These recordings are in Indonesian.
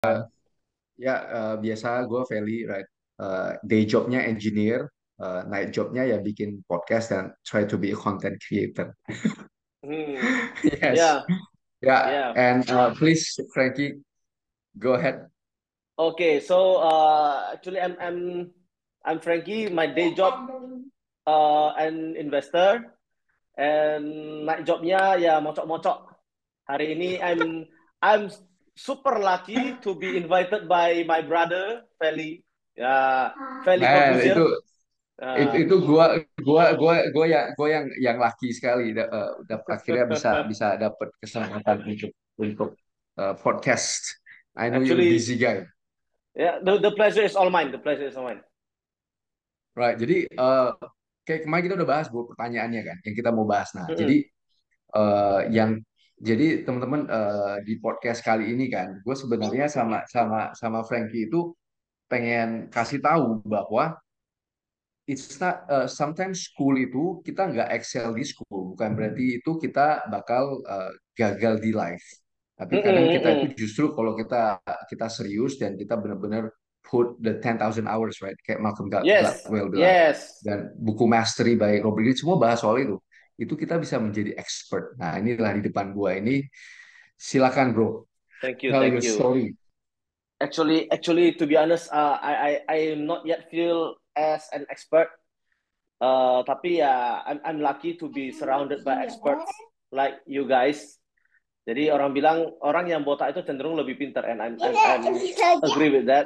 Ya, biasa gue Feli, right? Day jobnya engineer, night jobnya ya bikin podcast dan try to be a content creator. Hmm. Yes. Yeah, Yeah, yeah. and please, Frankie, go ahead. Okay, so actually, I'm Frankie. My day job, an investor, and night jobnya ya mocok-mocok. Hari ini I'm super lucky to be invited by my brother Feli. Ya, Feli Man, Corbuzier. Uh, itu gua yang laki sekali, akhirnya bisa bisa dapat kesempatan untuk podcast. I know you're a actually, busy guy. yeah, the pleasure is all mine. The pleasure is all mine. Right. Jadi kayak kemarin kita udah bahas pertanyaannya kan, yang kita mau bahas. Nah, jadi Mm-mm. yang jadi teman-teman, di podcast kali ini kan, gue sebenarnya sama sama sama Frankie itu pengen kasih tahu bahwa it's not, sometimes school itu kita nggak excel di school, bukan berarti itu kita bakal gagal di life. Tapi kadang Mm-mm, kita mm-mm. itu justru kalau kita kita serius dan kita benar-benar put the 10,000 hours, right? Kayak Malcolm Yes, Gladwell bilang. yes. Dan buku Mastery by Robert Greene semua bahas soal itu. Itu kita bisa menjadi expert. Nah, inilah di depan gua ini. Silakan, bro. Thank you, Tell thank your you. story. Actually, to be honest, I am not yet feel as an expert. Tapi ya, I'm lucky to be surrounded by experts like you guys. Jadi orang bilang orang yang botak itu cenderung lebih pintar, and I'm agree with that.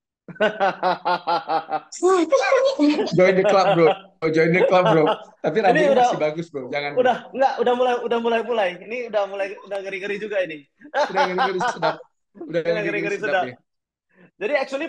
Join the club, bro. Join the club, bro. Tapi Ini rambutnya masih bagus, bro. Jangan, bro. udah mulai. Ini udah ngeri-ngeri juga ini. Udah ngeri-ngeri sedap. Udah Udah ngeri-ngeri ngeri-ngeri sedap sudah. nih. Jadi actually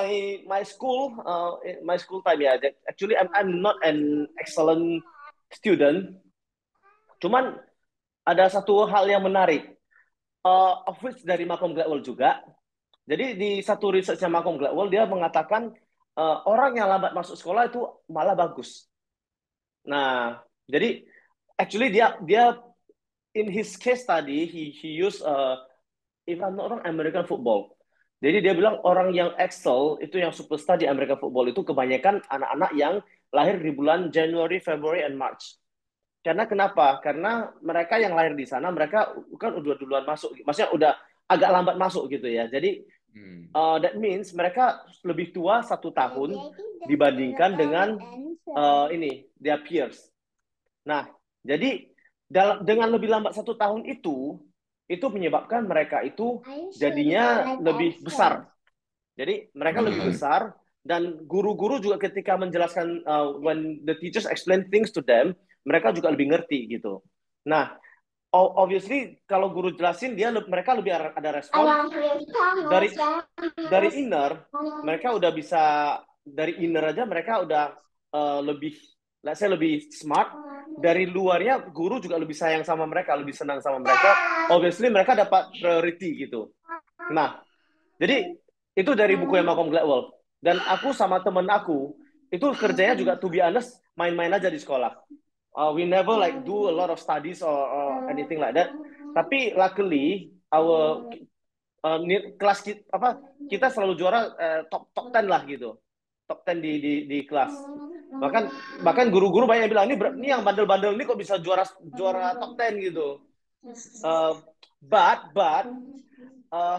my school time ya. Actually I'm not an excellent student. Cuman ada satu hal yang menarik. Of which dari Malcolm Gladwell juga. Jadi di satu researchnya Malcolm Gladwell dia mengatakan orang yang lambat masuk sekolah itu malah bagus. Nah, jadi actually dia dia in his case tadi he used if I'm not wrong American football. Jadi dia bilang orang yang excel itu yang superstar di American football itu kebanyakan anak-anak yang lahir di bulan January, February, and March. Karena kenapa? Karena mereka yang lahir di sana mereka kan udah duluan masuk, maksudnya udah agak lambat masuk gitu ya. Jadi Hmm. that means mereka lebih tua 1 tahun dibandingkan dengan ini their peers. Nah, jadi dengan lebih lambat 1 tahun itu menyebabkan mereka itu jadinya lebih besar. Jadi mereka lebih Hmm. besar dan guru-guru juga ketika menjelaskan when the teachers explain things to them, mereka juga lebih ngerti gitu. Nah, obviously kalau guru jelasin mereka lebih ada respon dari dari inner, mereka udah bisa dari inner aja mereka udah lebih let's say lebih smart. Dari luarnya guru juga lebih sayang sama mereka, lebih senang sama mereka. Obviously mereka dapat priority gitu. Nah, jadi itu dari buku yang Malcolm Gladwell. Dan aku sama temen aku itu kerjanya juga to be honest main-main aja di sekolah. We never like do a lot of studies or anything like that. Tapi luckily our kelas kita, apa kita selalu juara top top 10 lah gitu. Top 10 di kelas. Bahkan guru-guru banyak yang bilang ini yang bandel-bandel ini kok bisa juara juara top 10 gitu. Uh, but uh,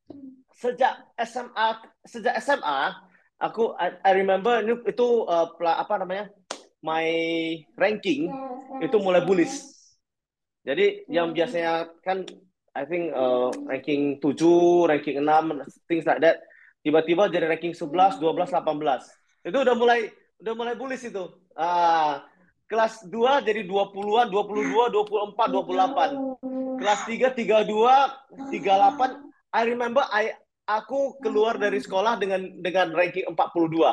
sejak SMA I remember itu apa namanya my ranking itu mulai bullish. Jadi yang biasanya kan I think ranking 7, ranking 6, things like that. Tiba-tiba jadi ranking 11, 12, 18. Itu udah mulai bullish itu. Kelas 2 jadi 20-an, 22, 24, 28. Kelas 3, 32, 38. I remember aku keluar dari sekolah dengan ranking 42.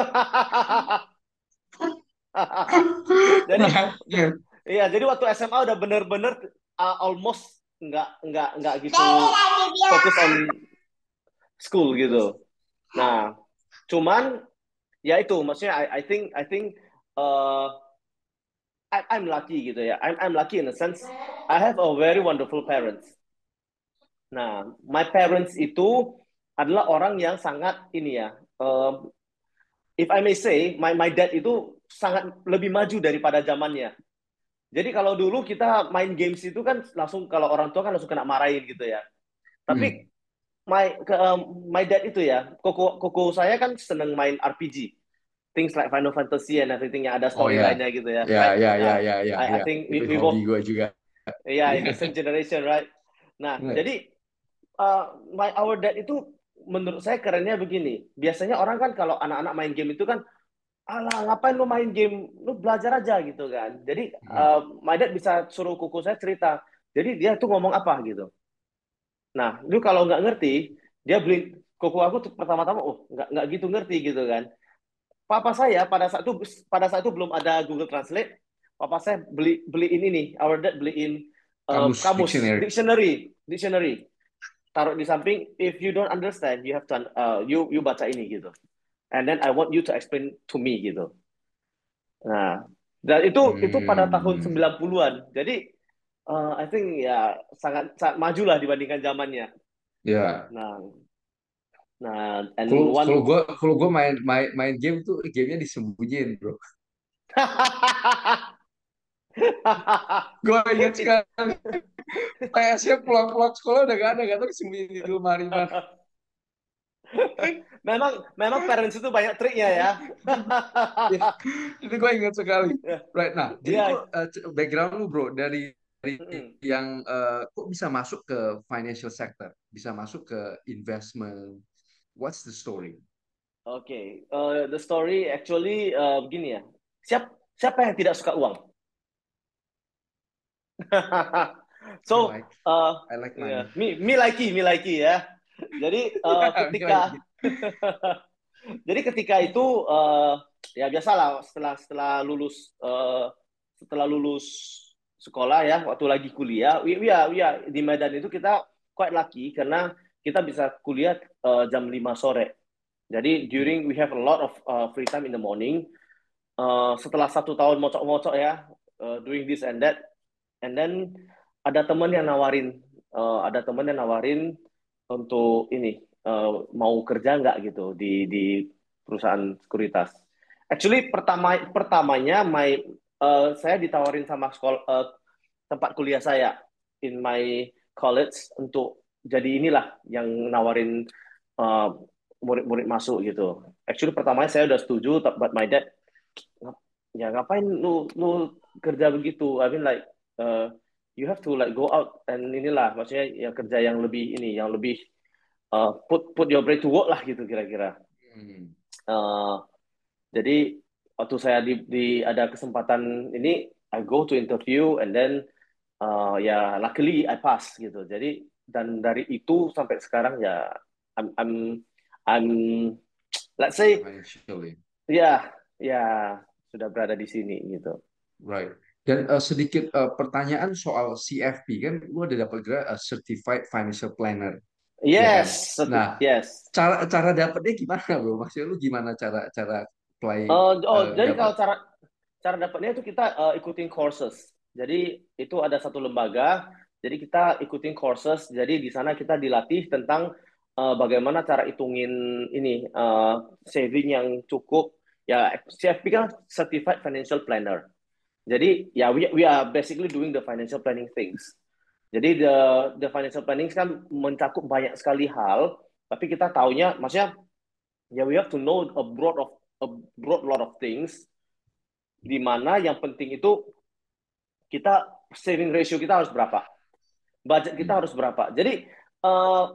Jadi iya, jadi waktu SMA udah bener-bener almost nggak gitu fokus on school gitu. Nah, cuman ya itu maksudnya I think uh, I'm lucky gitu ya. I'm lucky in a sense I have a very wonderful parents. Nah, my parents itu adalah orang yang sangat ini ya, if I may say, my dad itu sangat lebih maju daripada zamannya. Jadi kalau dulu kita main games itu kan langsung kalau orang tua kan langsung kena marahin gitu ya. Hmm. Tapi my dad itu ya, koko saya kan seneng main RPG, things like Final Fantasy and everything yang ada Oh ya, storyline-nya gitu ya, ya, right? ya, ya, Nah, ya, ya, I ya. think Itu we hobi both, gue juga. yeah, in Iya. the same generation, right? Nah, Right. jadi our dad itu menurut saya kerennya begini. Biasanya orang kan kalau anak-anak main game itu kan, alah ngapain lu main game, lu belajar aja gitu kan. Jadi Hmm. my dad bisa suruh kuku saya cerita. Jadi dia tuh ngomong apa gitu. Nah, lu kalau nggak ngerti, dia beli kuku aku tuh pertama-tama, oh nggak gitu ngerti gitu kan. Papa saya pada saat itu belum ada Google Translate. Papa saya beliin ini nih, our dad beliin Kamus kamus, dictionary. dictionary. Taruh di samping. If you don't understand, you have to you baca ini gitu. And then I want you to explain to me gitu. Nah, dan itu pada tahun Hmm. 90-an. Jadi I think ya sangat sangat maju lah dibandingkan zamannya. Ya. Nah, nah and Kalau kalau one gue kalau gue main main main game tuh gamenya disembunyiin, bro. Gue ingat sekali. PS-nya pulang-pulang sekolah udah gak tahu disembunyiin di lemari mana. memang memang parents itu banyak triknya ya. Ya, itu gue ingat sekali. Right, nah, jadi kok Iya. background lu bro dari Mm-mm. yang kok bisa masuk ke financial sector, bisa masuk ke investment. What's the story? Oke, the story actually begini ya. Siapa yang tidak suka uang? I So, like uh, I like yeah, money. me likey ya. Jadi I like it. ketika itu ya biasalah setelah lulus sekolah ya, waktu lagi kuliah, di Medan itu kita quite lucky karena kita bisa kuliah jam 5 sore. Jadi Hmm. we have a lot of free time in the morning. Setelah 1 tahun mocok-mocok ya, doing this and that, and then ada teman yang nawarin untuk ini mau kerja nggak gitu di perusahaan sekuritas. Actually pertamanya saya ditawarin sama sekolah tempat kuliah saya in my college untuk jadi inilah yang nawarin uh, murid-murid masuk gitu. Actually pertamanya saya udah setuju, but my dad ya ngapain lu kerja begitu? I mean like uh, you have to like go out and inilah maksudnya ya kerja yang lebih ini yang lebih put your brain to work lah gitu kira-kira. Hmm. Uh, jadi waktu saya ada kesempatan ini I go to interview and then ya luckily I pass gitu. Jadi dan dari itu sampai sekarang ya I'm I'm I'm let's say Financially. ya ya sudah berada di sini gitu. Right. Dan sedikit pertanyaan soal CFP kan, lu ada dapat gelar Certified Financial Planner, ya kan? Nah, Yes. cara cara dapetnya gimana, bro? Maksudnya lu gimana cara cara play Jadi dapat? kalau cara cara dapatnya itu kita ikutin courses. Jadi itu ada satu lembaga. Jadi kita ikutin courses. Jadi di sana kita dilatih tentang bagaimana cara hitungin ini saving yang cukup. Ya CFP kan Certified Financial Planner. Jadi ya we are basically doing the financial planning things. Jadi the financial planning kan mencakup banyak sekali hal. Tapi kita taunya, maksudnya ya we have to know a broad lot of things di mana yang penting itu kita saving ratio kita harus berapa, budget kita Hmm. harus berapa. Jadi uh,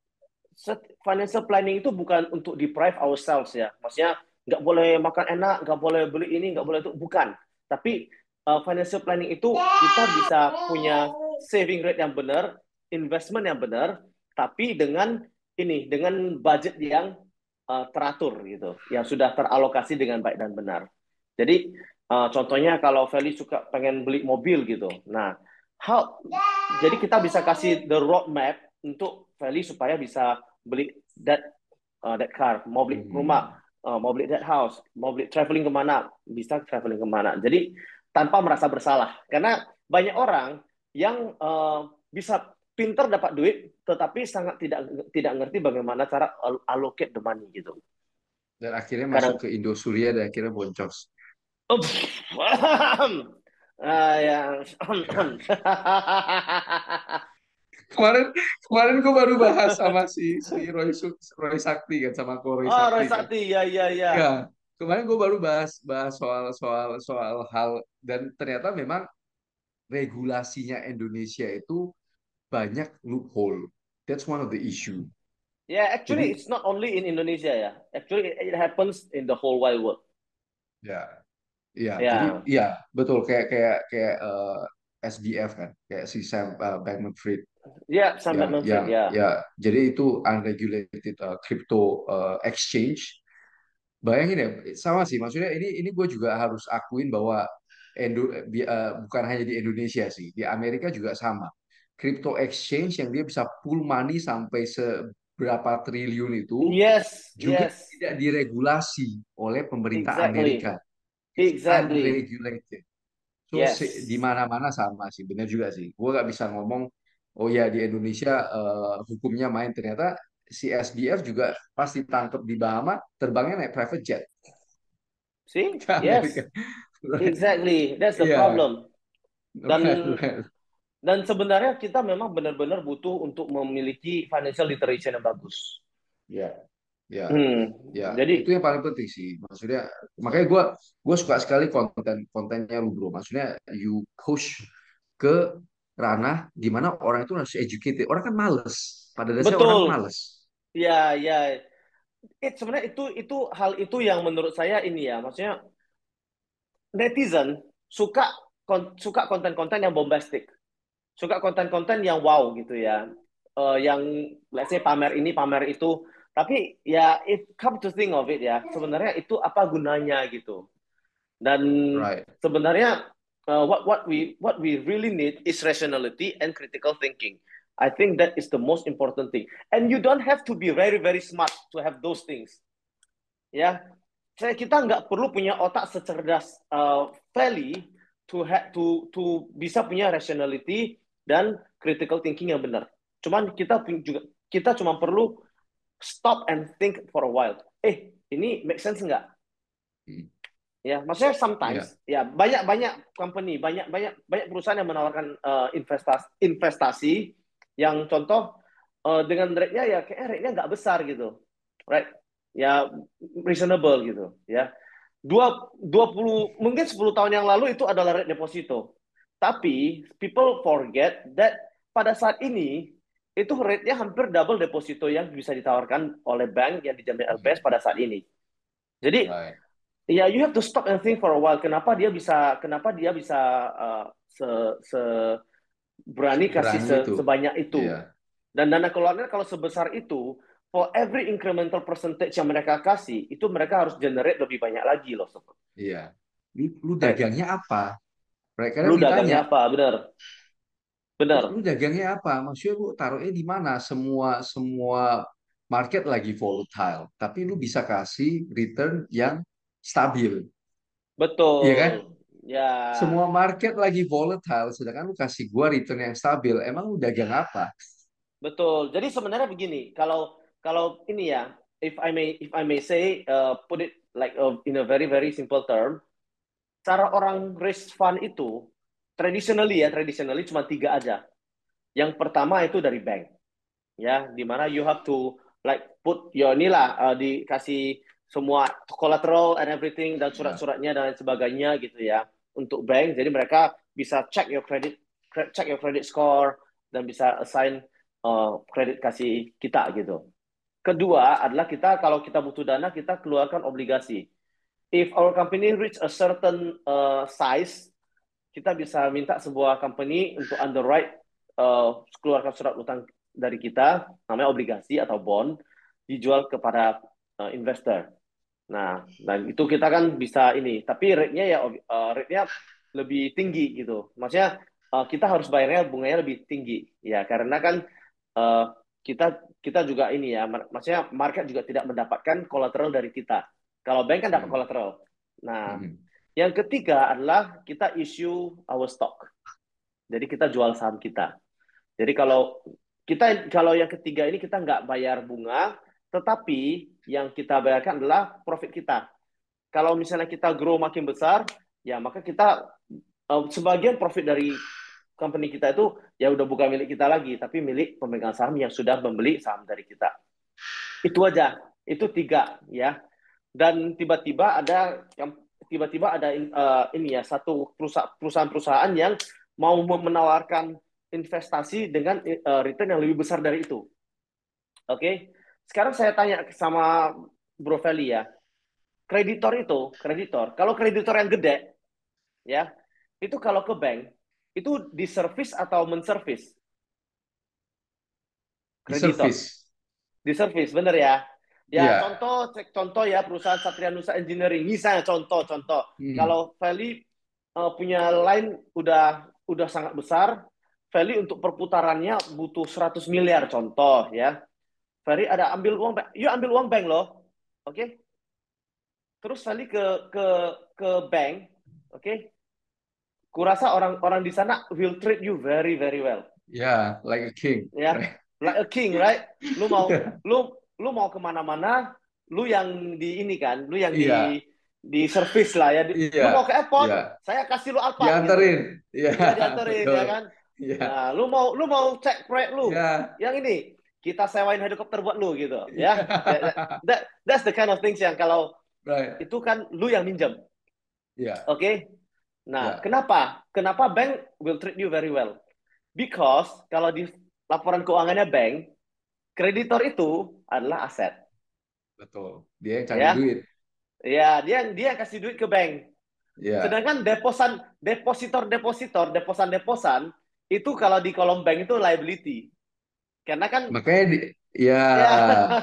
financial planning itu bukan untuk deprive ourselves ya, maksudnya nggak boleh makan enak, nggak boleh beli ini, nggak boleh itu, bukan. Tapi financial planning itu kita bisa punya saving rate yang benar, investment yang benar, tapi dengan budget yang teratur gitu, yang sudah teralokasi dengan baik dan benar. Jadi contohnya kalau Feli suka pengen beli mobil gitu, nah how, jadi kita bisa kasih the roadmap untuk Feli supaya bisa beli that car, mau beli rumah, Hmm. mau beli that house, mau beli traveling kemana, bisa traveling kemana. Jadi tanpa merasa bersalah, karena banyak orang yang bisa pinter dapat duit, tetapi sangat tidak tidak ngerti bagaimana cara allocate the money gitu. Dan akhirnya masuk Kadang, ke Indosuria dan akhirnya boncos. yang Kemarin kemarin gue baru bahas sama si Roy Sakti kan sama Ko Roy oh, Roy Sakti kan. Sakti, ya, ya, ya. Ya, kemarin gue baru bahas bahas soal hal dan ternyata memang regulasinya Indonesia itu banyak loophole. That's one of the issue. Yeah, actually, Jadi it's not only in Indonesia ya. Actually, it happens in the whole wide world. ya, ya, jadi Ya, ya betul kayak SBF kan, kayak si Sam Bankman-Fried ya, Sam yang Bankman-Fried ya. ya jadi itu unregulated crypto exchange. Bayangin ya, sama sih. Maksudnya ini gue juga harus akuin bahwa bukan hanya di Indonesia sih, di Amerika juga sama. Crypto exchange yang dia bisa pull money sampai seberapa triliun itu Yes, juga yes, tidak diregulasi oleh pemerintah exactly, Amerika. It's exactly. unregulated. So di Yes. mana-mana sama sih, benar juga sih. Gue gak bisa ngomong, oh ya di Indonesia hukumnya main. Ternyata si SBF juga pasti tangkap di Bahama, terbangnya naik private jet See? ke Amerika. Yes, exactly. That's the Iya, problem. Dan right, right. dan sebenarnya kita memang benar-benar butuh untuk memiliki financial literacy yang bagus. Ya, ya, Hmm. ya. Itu Jadi yang paling penting sih. Maksudnya, makanya gue suka sekali kontennya lu bro. Maksudnya you push ke ranah di mana orang itu harus educated. Orang kan males. Pada dasarnya orang betul. males. Ya, ya. Sebenarnya itu hal itu yang menurut saya ini ya, maksudnya netizen suka konten-konten yang bombastic, suka konten-konten yang wow gitu ya. Yang let's say pamer ini, pamer itu. Tapi ya if come to think of it ya, sebenarnya itu apa gunanya gitu. Dan Right. sebenarnya what we really need is rationality and critical thinking. I think that is the most important thing. And you don't have to be very very smart to have those things. Ya, kita nggak perlu punya otak secerdas Valley to bisa punya rationality dan critical thinking yang benar. Cuman kita cuma perlu stop and think for a while. Ini make sense nggak? Hmm. Ya, maksudnya Ya, sometimes ya banyak banyak company, banyak banyak banyak perusahaan yang menawarkan investasi yang contoh dengan rate-nya ya kayak rate-nya nggak besar gitu, right? Ya reasonable gitu, ya. 20 mungkin 10 tahun yang lalu itu adalah rate deposito. Tapi people forget that pada saat ini itu rate-nya hampir double deposito yang bisa ditawarkan oleh bank yang dijamin LPS pada saat ini. Jadi right. ya you have to stop and think for a while. Kenapa dia bisa se, se berani kasih Berani itu. sebanyak itu. Iya, Dan dana keluarnya kalau sebesar itu, for every incremental percentage yang mereka kasih, itu mereka harus generate lebih banyak lagi loh. iya. Lu Right. dagangnya apa? Mereka kadang Lu ditanya, dagangnya apa? Benar. lu Benar. dagangnya apa? Maksudnya lu taruhnya di mana? Semua semua market lagi volatile, tapi lu bisa kasih return yang stabil, iya kan? Betul. Ya, Semua market lagi volatile, sedangkan lu kasih gua return yang stabil. Emang lu dagang apa? betul. Jadi sebenarnya begini, kalau kalau ini ya, if I may say, put it like in a very very simple term, cara orang raise fund itu traditionally cuma tiga aja. Yang pertama itu dari bank, ya, di mana you have to like put your inilah dikasih semua collateral and everything dan Ya, surat-suratnya dan lain sebagainya gitu ya untuk bank. Jadi mereka bisa check your credit score dan bisa assign kredit kasih kita gitu. Kedua adalah kalau kita butuh dana kita keluarkan obligasi. If our company reach a certain size, kita bisa minta sebuah company untuk underwrite keluarkan surat utang dari kita, namanya obligasi atau bond, dijual kepada investor. Nah, dan itu kita kan bisa ini, tapi rate-nya lebih tinggi gitu. Maksudnya kita harus bayarnya bunganya lebih tinggi, ya karena kan uh, kita juga ini ya, maksudnya market juga tidak mendapatkan kolateral dari kita. Kalau bank kan dapat hmm, kolateral. Nah, hmm, yang ketiga adalah kita issue our stock. Jadi kita jual saham kita. Jadi kalau yang ketiga ini kita nggak bayar bunga, tetapi yang kita bayarkan adalah profit kita. Kalau misalnya kita grow makin besar, ya maka kita sebagian profit dari company kita itu ya udah bukan milik kita lagi, tapi milik pemegang saham yang sudah membeli saham dari kita. Itu aja, itu tiga ya. Dan tiba-tiba ada ini ya satu perusahaan-perusahaan yang mau menawarkan investasi dengan return yang lebih besar dari itu. Oke, sekarang saya tanya sama Bro Feli ya, kalau kreditor yang gede ya, itu kalau ke bank itu diservis atau menservis Di kreditor? service. Diservis, bener ya? Ya, Iya. contoh ya perusahaan Satria Nusa Engineering. Misalnya contoh. Hmm. Kalau Feli punya line udah sangat besar, Feli untuk perputarannya butuh 100 miliar contoh ya. Feli ada ambil uang, yuk ambil uang bank loh. Oke. Okay? Terus Feli ke bank, oke. Okay? Kurasa orang-orang di sana will treat you very very well. Yeah, like a king. Ya, Right. like a king, right? Lu mau Yeah. lu lu mau kemana-mana, lu yang di ini kan, lu yang Iya, di service lah ya. iya, Lu mau ke iya. airport, saya kasih lu Alphard gitu. Dianterin. Iya, Ya dianterin betul. ya kan. Iya, Nah, lu mau cek proyek lu, iya, yang ini kita sewain helikopter buat lu gitu, ya. iya. That's the kind of things yang kalau Right. itu kan lu yang minjem, Iya, oke? Okay? Nah, iya, kenapa? Kenapa bank will treat you very well? Because kalau di laporan keuangannya bank, kreditor itu adalah aset, betul. Dia yang cari ya. duit. Ya, dia kasih duit ke bank. Iya. Sedangkan deposan itu kalau di kolom bank itu liability. Karena kan Makanya ya, ya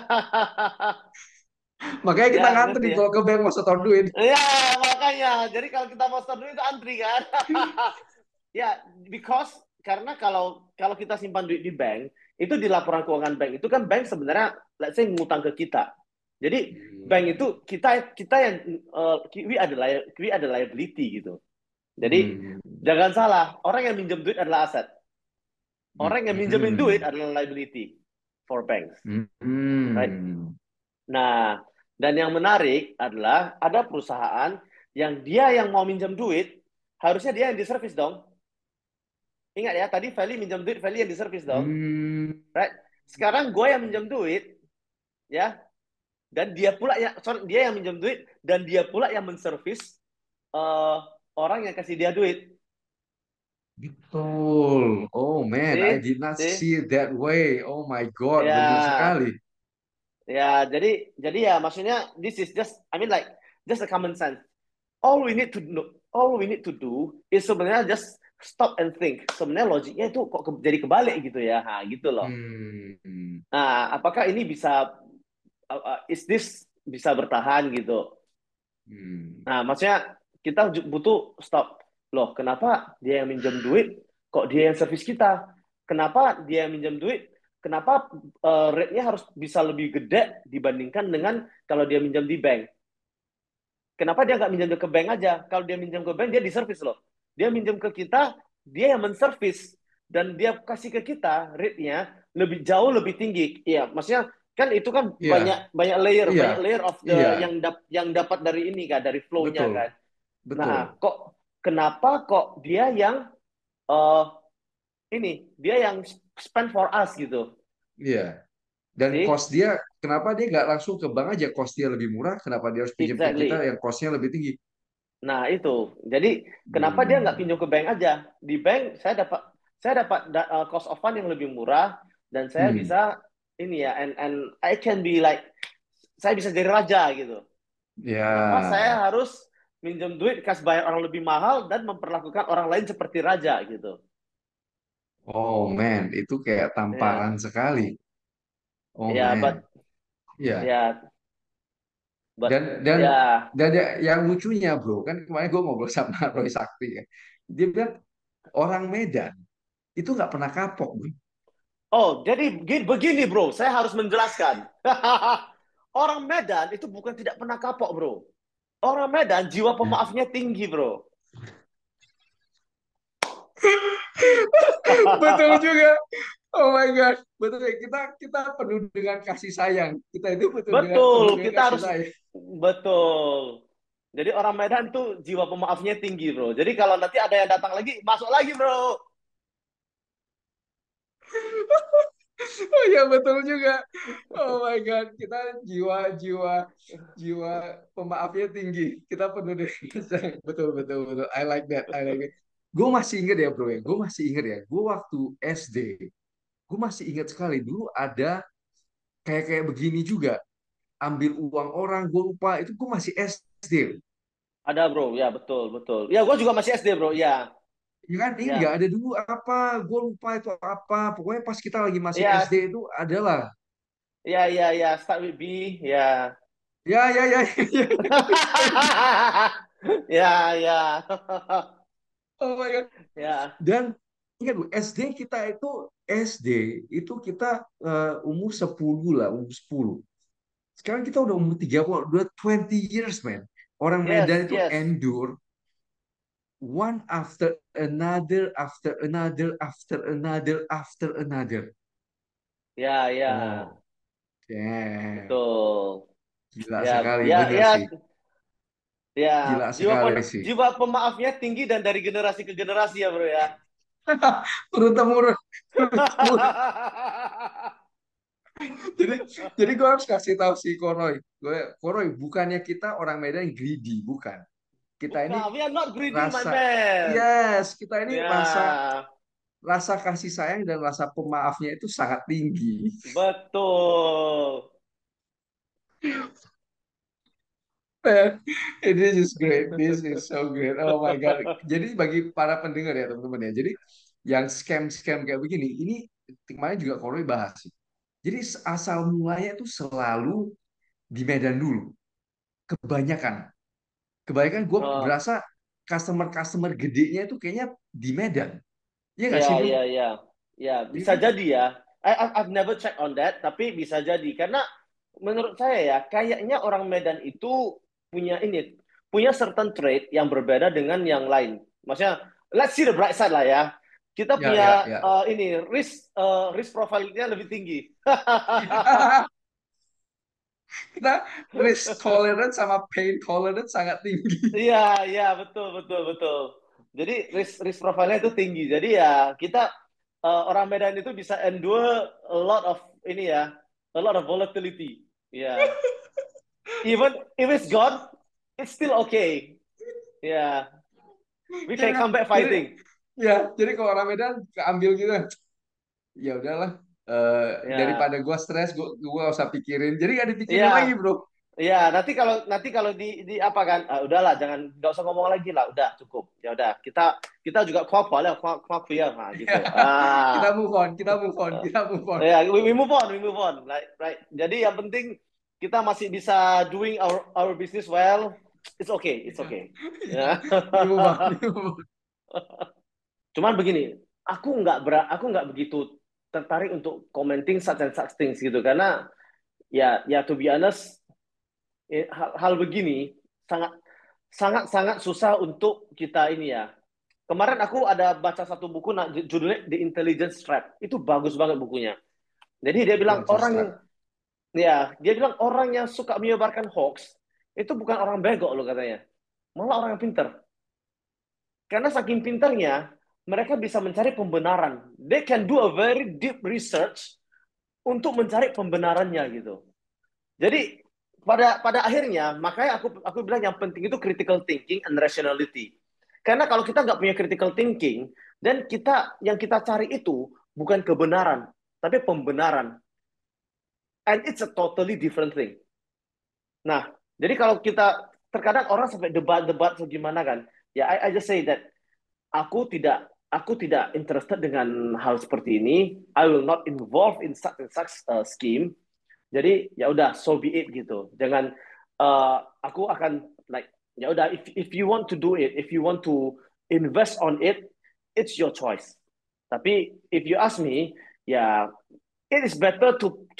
makanya kita ya ngerti ngantri ya. kalau ke bank mau setor duit. Ya, makanya. Jadi kalau kita mau store duit itu antri kan. Ya, because karena kalau kalau kita simpan duit di bank, itu di laporan keuangan bank itu kan bank sebenarnya let's say ngutang ke kita. Jadi bank Hmm. itu kita yang we ada liability gitu. Jadi Hmm. jangan salah, orang yang minjem duit adalah aset. Orang yang minjemin duit Hmm. adalah liability for banks, right? Hmm. Nah, dan yang menarik adalah ada perusahaan yang dia yang mau minjem duit, harusnya dia yang diservis dong. Ingat ya, tadi Feli minjem duit, Feli yang diservis dong, Hmm. right? Sekarang gue yang minjem duit, ya, dan dia pula yang, sorry, dia yang minjem duit dan dia pula yang menservis uh, orang yang kasih dia duit. Betul. Oh man, I See, did not see, see it that way. Oh my God, bener ya, sekali. ya. Jadi ya, maksudnya this is just, I mean like just a common sense. All we need to do is sebenarnya just stop and think. Sebenarnya logiknya itu kok jadi kebalik gitu ya, nah, gitu loh. Hmm. Nah, apakah ini is this bisa bertahan gitu? Hmm. Nah, maksudnya kita butuh stop. Loh, kenapa dia yang minjem duit, kok dia yang servis kita? Kenapa dia yang minjem duit? Kenapa rate-nya harus bisa lebih gede dibandingkan dengan kalau dia minjem di bank? Kenapa dia nggak minjem ke bank aja? Kalau dia minjem ke bank, dia diservis loh. Dia minjem ke kita, dia yang menservis. Dan dia kasih ke kita rate-nya lebih jauh lebih tinggi. Iya, maksudnya kan itu kan Iya, banyak banyak iya, layer of iya, the yang dapat dari ini kan, dari flow-nya betul, kan. Nah, betul. kenapa kok dia yang uh, dia yang spend for us gitu. Iya. Dan See? cost dia, kenapa dia nggak langsung ke bank aja? Cost dia lebih murah, kenapa dia harus pinjam ke kita Exactly. yang costnya lebih tinggi? Nah, itu. Jadi, kenapa dia nggak Hmm. pinjam ke bank aja? Di bank saya dapat cost of fund yang lebih murah dan saya Hmm. bisa ini ya and I can be like saya bisa jadi raja gitu. Kenapa Ya. saya harus minjem duit kasih bayar orang lebih mahal dan memperlakukan orang lain seperti raja gitu. Oh man, itu kayak tamparan Ya, sekali. Oh ya, man. Iya. ya, Dan but dan ya. dan yang lucunya bro, kan kemarin gue ngobrol sama Roy Sakti kan. Dia bilang orang Medan itu nggak pernah kapok bro. Oh, jadi begini bro, saya harus menjelaskan. Orang Medan itu bukan tidak pernah kapok bro. Orang Medan jiwa pemaafnya tinggi bro. Betul juga. Oh my God, betul ya. Kita penuh dengan kasih sayang. Kita itu betul dengan penuh Betul, dengan kita kasih harus sayang. betul. Jadi orang Medan tuh jiwa pemaafnya tinggi, bro. Jadi kalau nanti ada yang datang lagi, masuk lagi, bro. Oh iya betul juga. Oh my God, kita jiwa jiwa jiwa pemaafnya tinggi. Kita penuh dengan kasih sayang. Betul betul betul. I like that. I like it. Gue masih inget ya bro ya. Gue masih inget ya. Gue waktu SD, gue masih ingat sekali dulu ada kayak kayak begini juga. Ambil uang orang, gue lupa. Itu gue masih SD. Ada, bro. Ya, betul, betul. Ya, gue juga masih SD, bro. Ya, Ya kan, ini nggak ya. ada dulu apa, gue lupa itu apa. Pokoknya pas kita lagi masih Ya, SD itu adalah. ya, ya, ya. Start with B. Ya. Ya, ya, ya, ya. Ya, ya. Oh my God. Ya. Dan ingat Bu, SD kita itu SD itu kita umur 10 lah, umur 10. Sekarang kita udah umur 30, udah 20 years, man. Orang Yes, Medan itu yes. endure one after another, after another, after another. Ya, ya. Oh, damn. Betul. Gila Ya, sekali, ya, bener ya. sih. Ya, Gila sekali sih. jiwa pemaafnya tinggi dan dari generasi ke generasi ya, bro ya. Turun temurun, turun temurun. Jadi, jadi gue harus kasih tahu si Koroy. Koroy, bukannya kita orang Medan greedy, bukan. Kita ini Bukan, we are not greedy, my rasa, man. yes, kita ini rasa Ya, rasa kasih sayang dan rasa pemaafnya itu sangat tinggi. betul. Man, this is great. This is so great. Oh my God. Jadi bagi para pendengar ya teman-teman ya. Jadi yang scam-scam kayak begini, ini kemarin juga Koroy bahas sih. Jadi asal mulanya itu selalu di Medan dulu. Kebanyakan. Kebanyakan gue Oh, berasa customer-customer gedenya itu kayaknya di Medan. Iya nggak sih ya, bro? ya, ya. Ya, Iya bisa kan? jadi ya. I've never check on that, tapi bisa jadi. Karena menurut saya ya, kayaknya orang Medan itu punya ini, punya certain trait yang berbeda dengan yang lain. Maksudnya, let's see the bright side lah ya. Kita Ya, ya, punya ya. ini risk profile-nya lebih tinggi. Kita risk tolerance sama pain tolerance sangat tinggi. Iya, iya, betul, betul, betul. Jadi risk profile-nya itu tinggi. Jadi ya kita orang Medan itu bisa endure a lot of ini ya, a lot of volatility. Ya, even if it's gone, it's still okay. Ya, we can Ya, come back jadi fighting. jadi kalau orang Medan keambil gitu, ya udahlah. Daripada Ya, gue stres, gue gak usah pikirin. Jadi gak dipikirin lagi ya, bro. ya. Nanti kalau di apa kan? Udahlah, jangan nggak usah ngomong lagi lah. Udah cukup. Ya udah, kita kita juga kuat lah, kuat clear nah gitu. Kita Ah. move on, kita move on, kita move on. Ya, we move on, we move on. Right. Jadi yang penting kita masih bisa doing our business well. It's okay, it's Ya, okay. ya. Ya. We move on, we move on. Cuman begini, aku nggak begitu tertarik untuk commenting such and such things gitu karena ya to be honest hal begini sangat sangat sangat susah untuk kita ini ya. Kemarin aku ada baca satu buku judulnya The Intelligence Trap. Itu bagus banget bukunya. Jadi dia bilang Intelligence orang trap. Ya, dia bilang orang yang suka menyebarkan hoax itu bukan orang bego loh katanya. Malah orang yang pinter. Karena saking pinternya, mereka bisa mencari pembenaran. They can do a very deep research untuk mencari pembenarannya gitu. Jadi pada pada akhirnya, makanya aku bilang yang penting itu critical thinking and rationality. Karena kalau kita nggak punya critical thinking, dan yang kita cari itu bukan kebenaran, tapi pembenaran. And it's a totally different thing. Nah, jadi kalau kita terkadang orang sampai debat-debat atau gimana kan, ya I just say that aku tidak interested dengan hal seperti ini. I will not involve in such and such scheme. Jadi ya udah so be it gitu. Jangan aku akan like ya udah if you want to do it, if you want to invest on it, it's your choice. Tapi if you ask me, ya it is better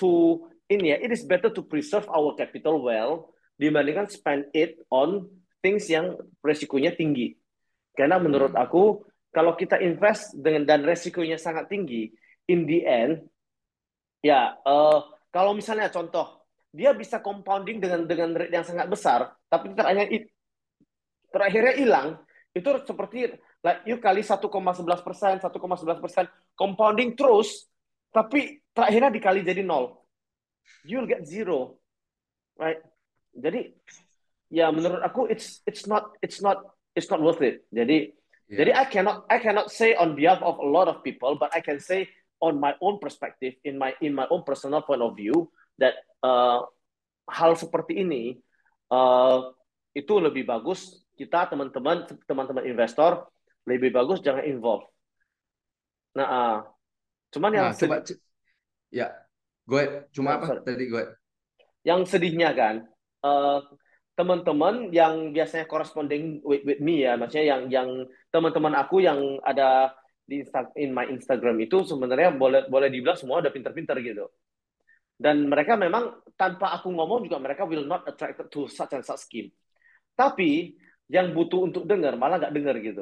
it is better to preserve our capital well dibandingkan spend it on things yang resikonya tinggi. Karena menurut Hmm. aku kalau kita invest dengan dan resikonya sangat tinggi, in the end, ya kalau misalnya contoh, dia bisa compounding dengan rate yang sangat besar, tapi terakhirnya hilang, itu seperti like, you kali 1,11%, 1,11% compounding terus, tapi terakhirnya dikali jadi nol, you'll get zero, right? Jadi ya menurut aku it's not worth it. Jadi Ya. I cannot say on behalf of a lot of people, but I can say on my own perspective, in my own personal point of view, that hal seperti ini uh, itu lebih bagus kita teman-teman investor lebih bagus jangan involve. Nah, cuman yang Nah, coba sedih, ya, gue cuma nah, apa sorry, tadi gue? yang sedihnya kan, uh, teman-teman yang biasanya corresponding with me ya, maksudnya yang teman-teman aku yang ada in my Instagram itu sebenarnya boleh boleh dibilang semua udah pinter-pinter gitu. Dan mereka memang tanpa aku ngomong juga mereka will not attracted to such and such scheme. Tapi yang butuh untuk dengar malah nggak dengar gitu.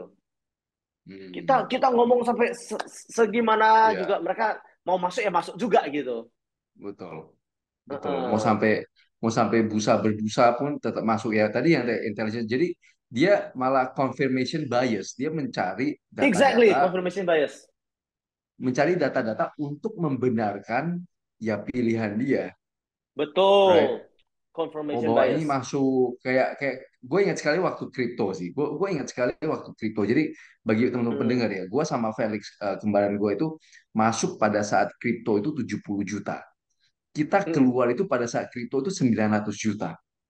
Kita Hmm, kita ngomong sampai segimana juga ya, mereka mau masuk ya masuk juga gitu. betul, betul. Uh-uh. Mau sampai busa berbusa pun tetap masuk ya. Tadi yang intelligence. Jadi dia malah confirmation bias. Dia Exactly, confirmation bias. mencari data-data untuk membenarkan ya pilihan dia, right? Betul. Oh, Confirmation bahwa ini bias. masuk kayak kayak gue ingat sekali waktu kripto sih. Gue ingat sekali waktu kripto. Jadi bagi teman-teman pendengar Hmm. ya, gue sama Felix kembaran gue itu masuk pada saat kripto itu 70 juta. Kita Hmm. keluar itu pada saat kripto itu 900 juta.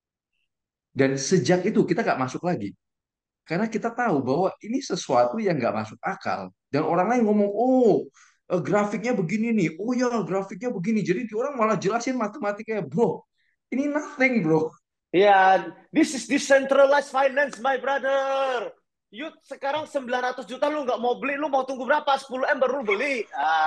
Dan sejak itu kita nggak masuk lagi. Karena kita tahu bahwa ini sesuatu yang nggak masuk akal. Dan orang lain ngomong, oh grafiknya begini nih. Oh ya grafiknya begini. Jadi orang malah jelasin matematikanya. Bro, ini nothing bro. Ya, this is decentralized finance, my brother. You sekarang 900 juta lu nggak mau beli, lu mau tunggu berapa? 10 M baru lu beli.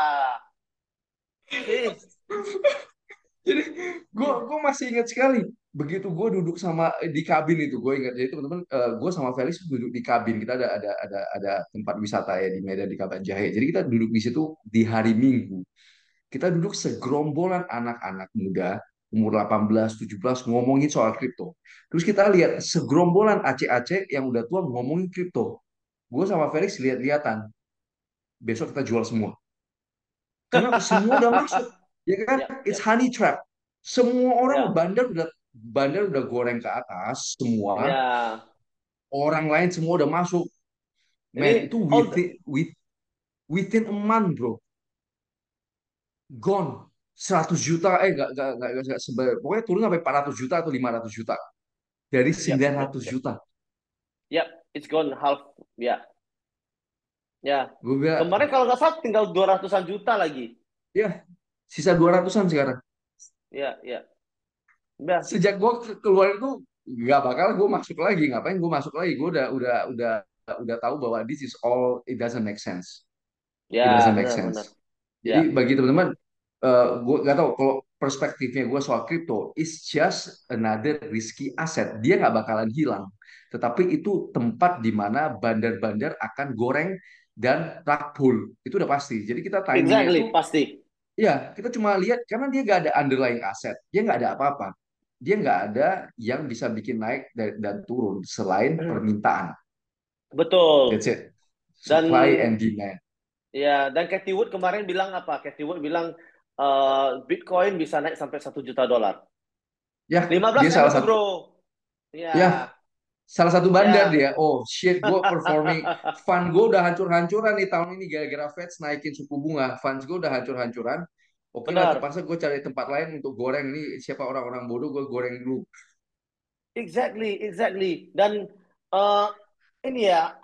See? Jadi gue masih ingat sekali. Begitu gue duduk sama di kabin itu, gue ingat. Jadi teman-teman, gue sama Felix duduk di kabin. Kita ada tempat wisata ya di Medan di Kaban Jahe. Jadi kita duduk di situ di hari Minggu. Kita duduk segerombolan anak-anak muda umur 18, 17 ngomongin soal kripto. Terus kita lihat segerombolan aceh-aceh yang udah tua ngomongin kripto. Gue sama Felix lihat-lihatan. Besok kita jual semua. Karena semua udah masuk. Ya kan? Ya, It's ya, honey trap. Semua orang ya, bandar udah goreng ke atas semua. ya. Orang lain semua udah masuk. Man, Ini itu within a month, bro. Gone. 100 juta, nggak pokoknya turun sampai 400 juta atau 500 juta. Dari yep, sembilan yep, ratus yep. juta. Yep, it's gone half. Ya, ya. Gue bilang, Kemarin kalau nggak salah tinggal 200-an juta lagi. ya, sisa 200-an sekarang. Ya, ya. Ya, Sejak gue keluar itu, nggak bakal gue masuk lagi. Ngapain gue masuk lagi? Gue udah tahu bahwa this is all, it doesn't make sense. It ya, doesn't make benar-benar. sense. Jadi Ya. bagi teman-teman, gue nggak tahu kalau perspektifnya gue soal crypto, it's just another risky asset. Dia nggak bakalan hilang. Tetapi itu tempat di mana bandar-bandar akan goreng dan rug pull. Itu udah pasti. Jadi kita timingnya Exactly, itu, pasti. ya kita cuma lihat karena dia nggak ada underlying aset. Dia nggak ada apa-apa. Dia nggak ada yang bisa bikin naik dan turun selain permintaan. Betul. That's it. Dan Supply and demand. dan Cathy Wood kemarin bilang apa? Cathy Wood bilang Bitcoin bisa naik sampai 1 juta dolar. Ya, 15 dia M salah itu, satu. bro. Ya, Ya, salah satu bandar ya. dia. Oh shit, gue performing. Fund gue udah hancur-hancuran nih tahun ini gara-gara Fed naikin suku bunga. Funds gue udah hancur-hancuran. Oke lah, Benar. terpaksa gue cari tempat lain untuk goreng nih. Siapa orang-orang bodoh, gue goreng dulu. Exactly, exactly. Dan eh, ini ya,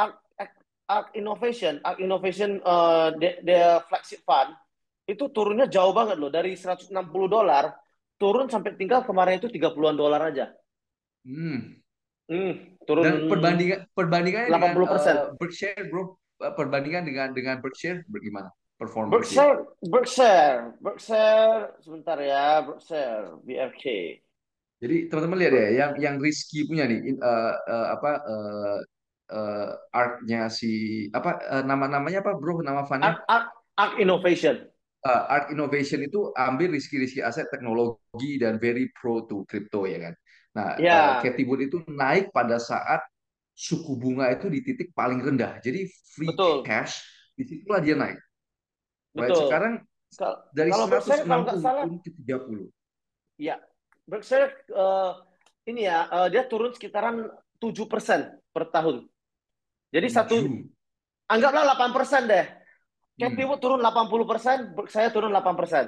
Arc Innovation their flagship fund itu turunnya jauh banget loh dari 160 dolar turun sampai tinggal kemarin itu 30-an dolar aja. Hmm. Turun Dan perbandingannya dengan 80%. Berkshire, bro. Perbandingan dengan Berkshire bagaimana performance dia? Berkshire sebentar ya, Berkshire BRK. Jadi teman-teman lihat ya, yang risky punya nih, apa? ARK-nya si apa nama-namanya apa bro, nama fundnya? Arc Innovation. ARK Innovation itu ambil riski-riski aset teknologi dan very pro to crypto ya kan. Nah, Ya, Cathie Wood itu naik pada saat suku bunga itu di titik paling rendah. Jadi free betul, cash disitulah dia naik. Right? betul. Sekarang dari Kalau Berkshire kalau nggak 160 salah, turun ke 30. ya Berkshire ini ya dia turun sekitaran 7% per tahun. Jadi Tujuh. anggaplah 8% deh. Cathie Hmm. Wood turun 80%, saya turun 8%.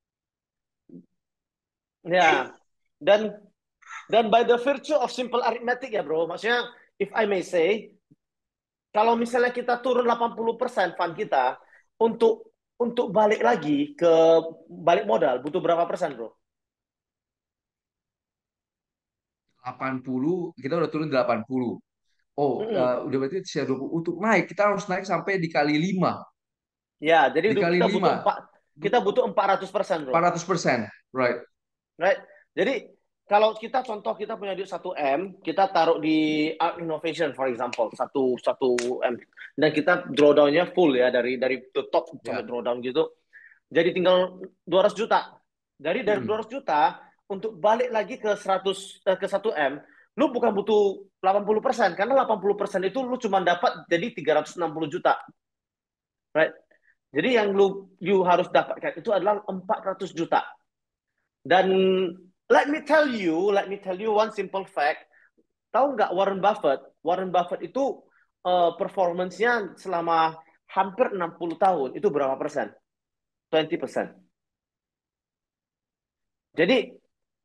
Ya, dan by the virtue of simple arithmetic ya bro, maksudnya if I may say, kalau misalnya kita turun 80% fund kita untuk balik lagi ke balik modal butuh berapa persen bro? 80, kita udah turun 80. Oh, Mm-mm. udah berarti share 20. Untuk naik, kita harus naik sampai dikali 5. Ya, jadi Dikali kita butuh 5. 400% bro. 400%. Right. Right? Jadi kalau kita contoh kita punya duit 1 M, kita taruh di Art Innovation for example, satu M dan kita drawdown-nya full ya dari the top sampai Ya. drawdown gitu. Jadi tinggal 200 juta. Dari Hmm. 200 juta untuk balik lagi ke 1 M, lu bukan butuh 80% karena 80% itu lu cuma dapat jadi 360 juta. Right? Jadi yang you harus dapatkan itu adalah 400 juta. Dan let me tell you one simple fact. Tahu nggak Warren Buffett? Warren Buffett itu performance-nya selama hampir 60 tahun itu berapa persen? 20%. Jadi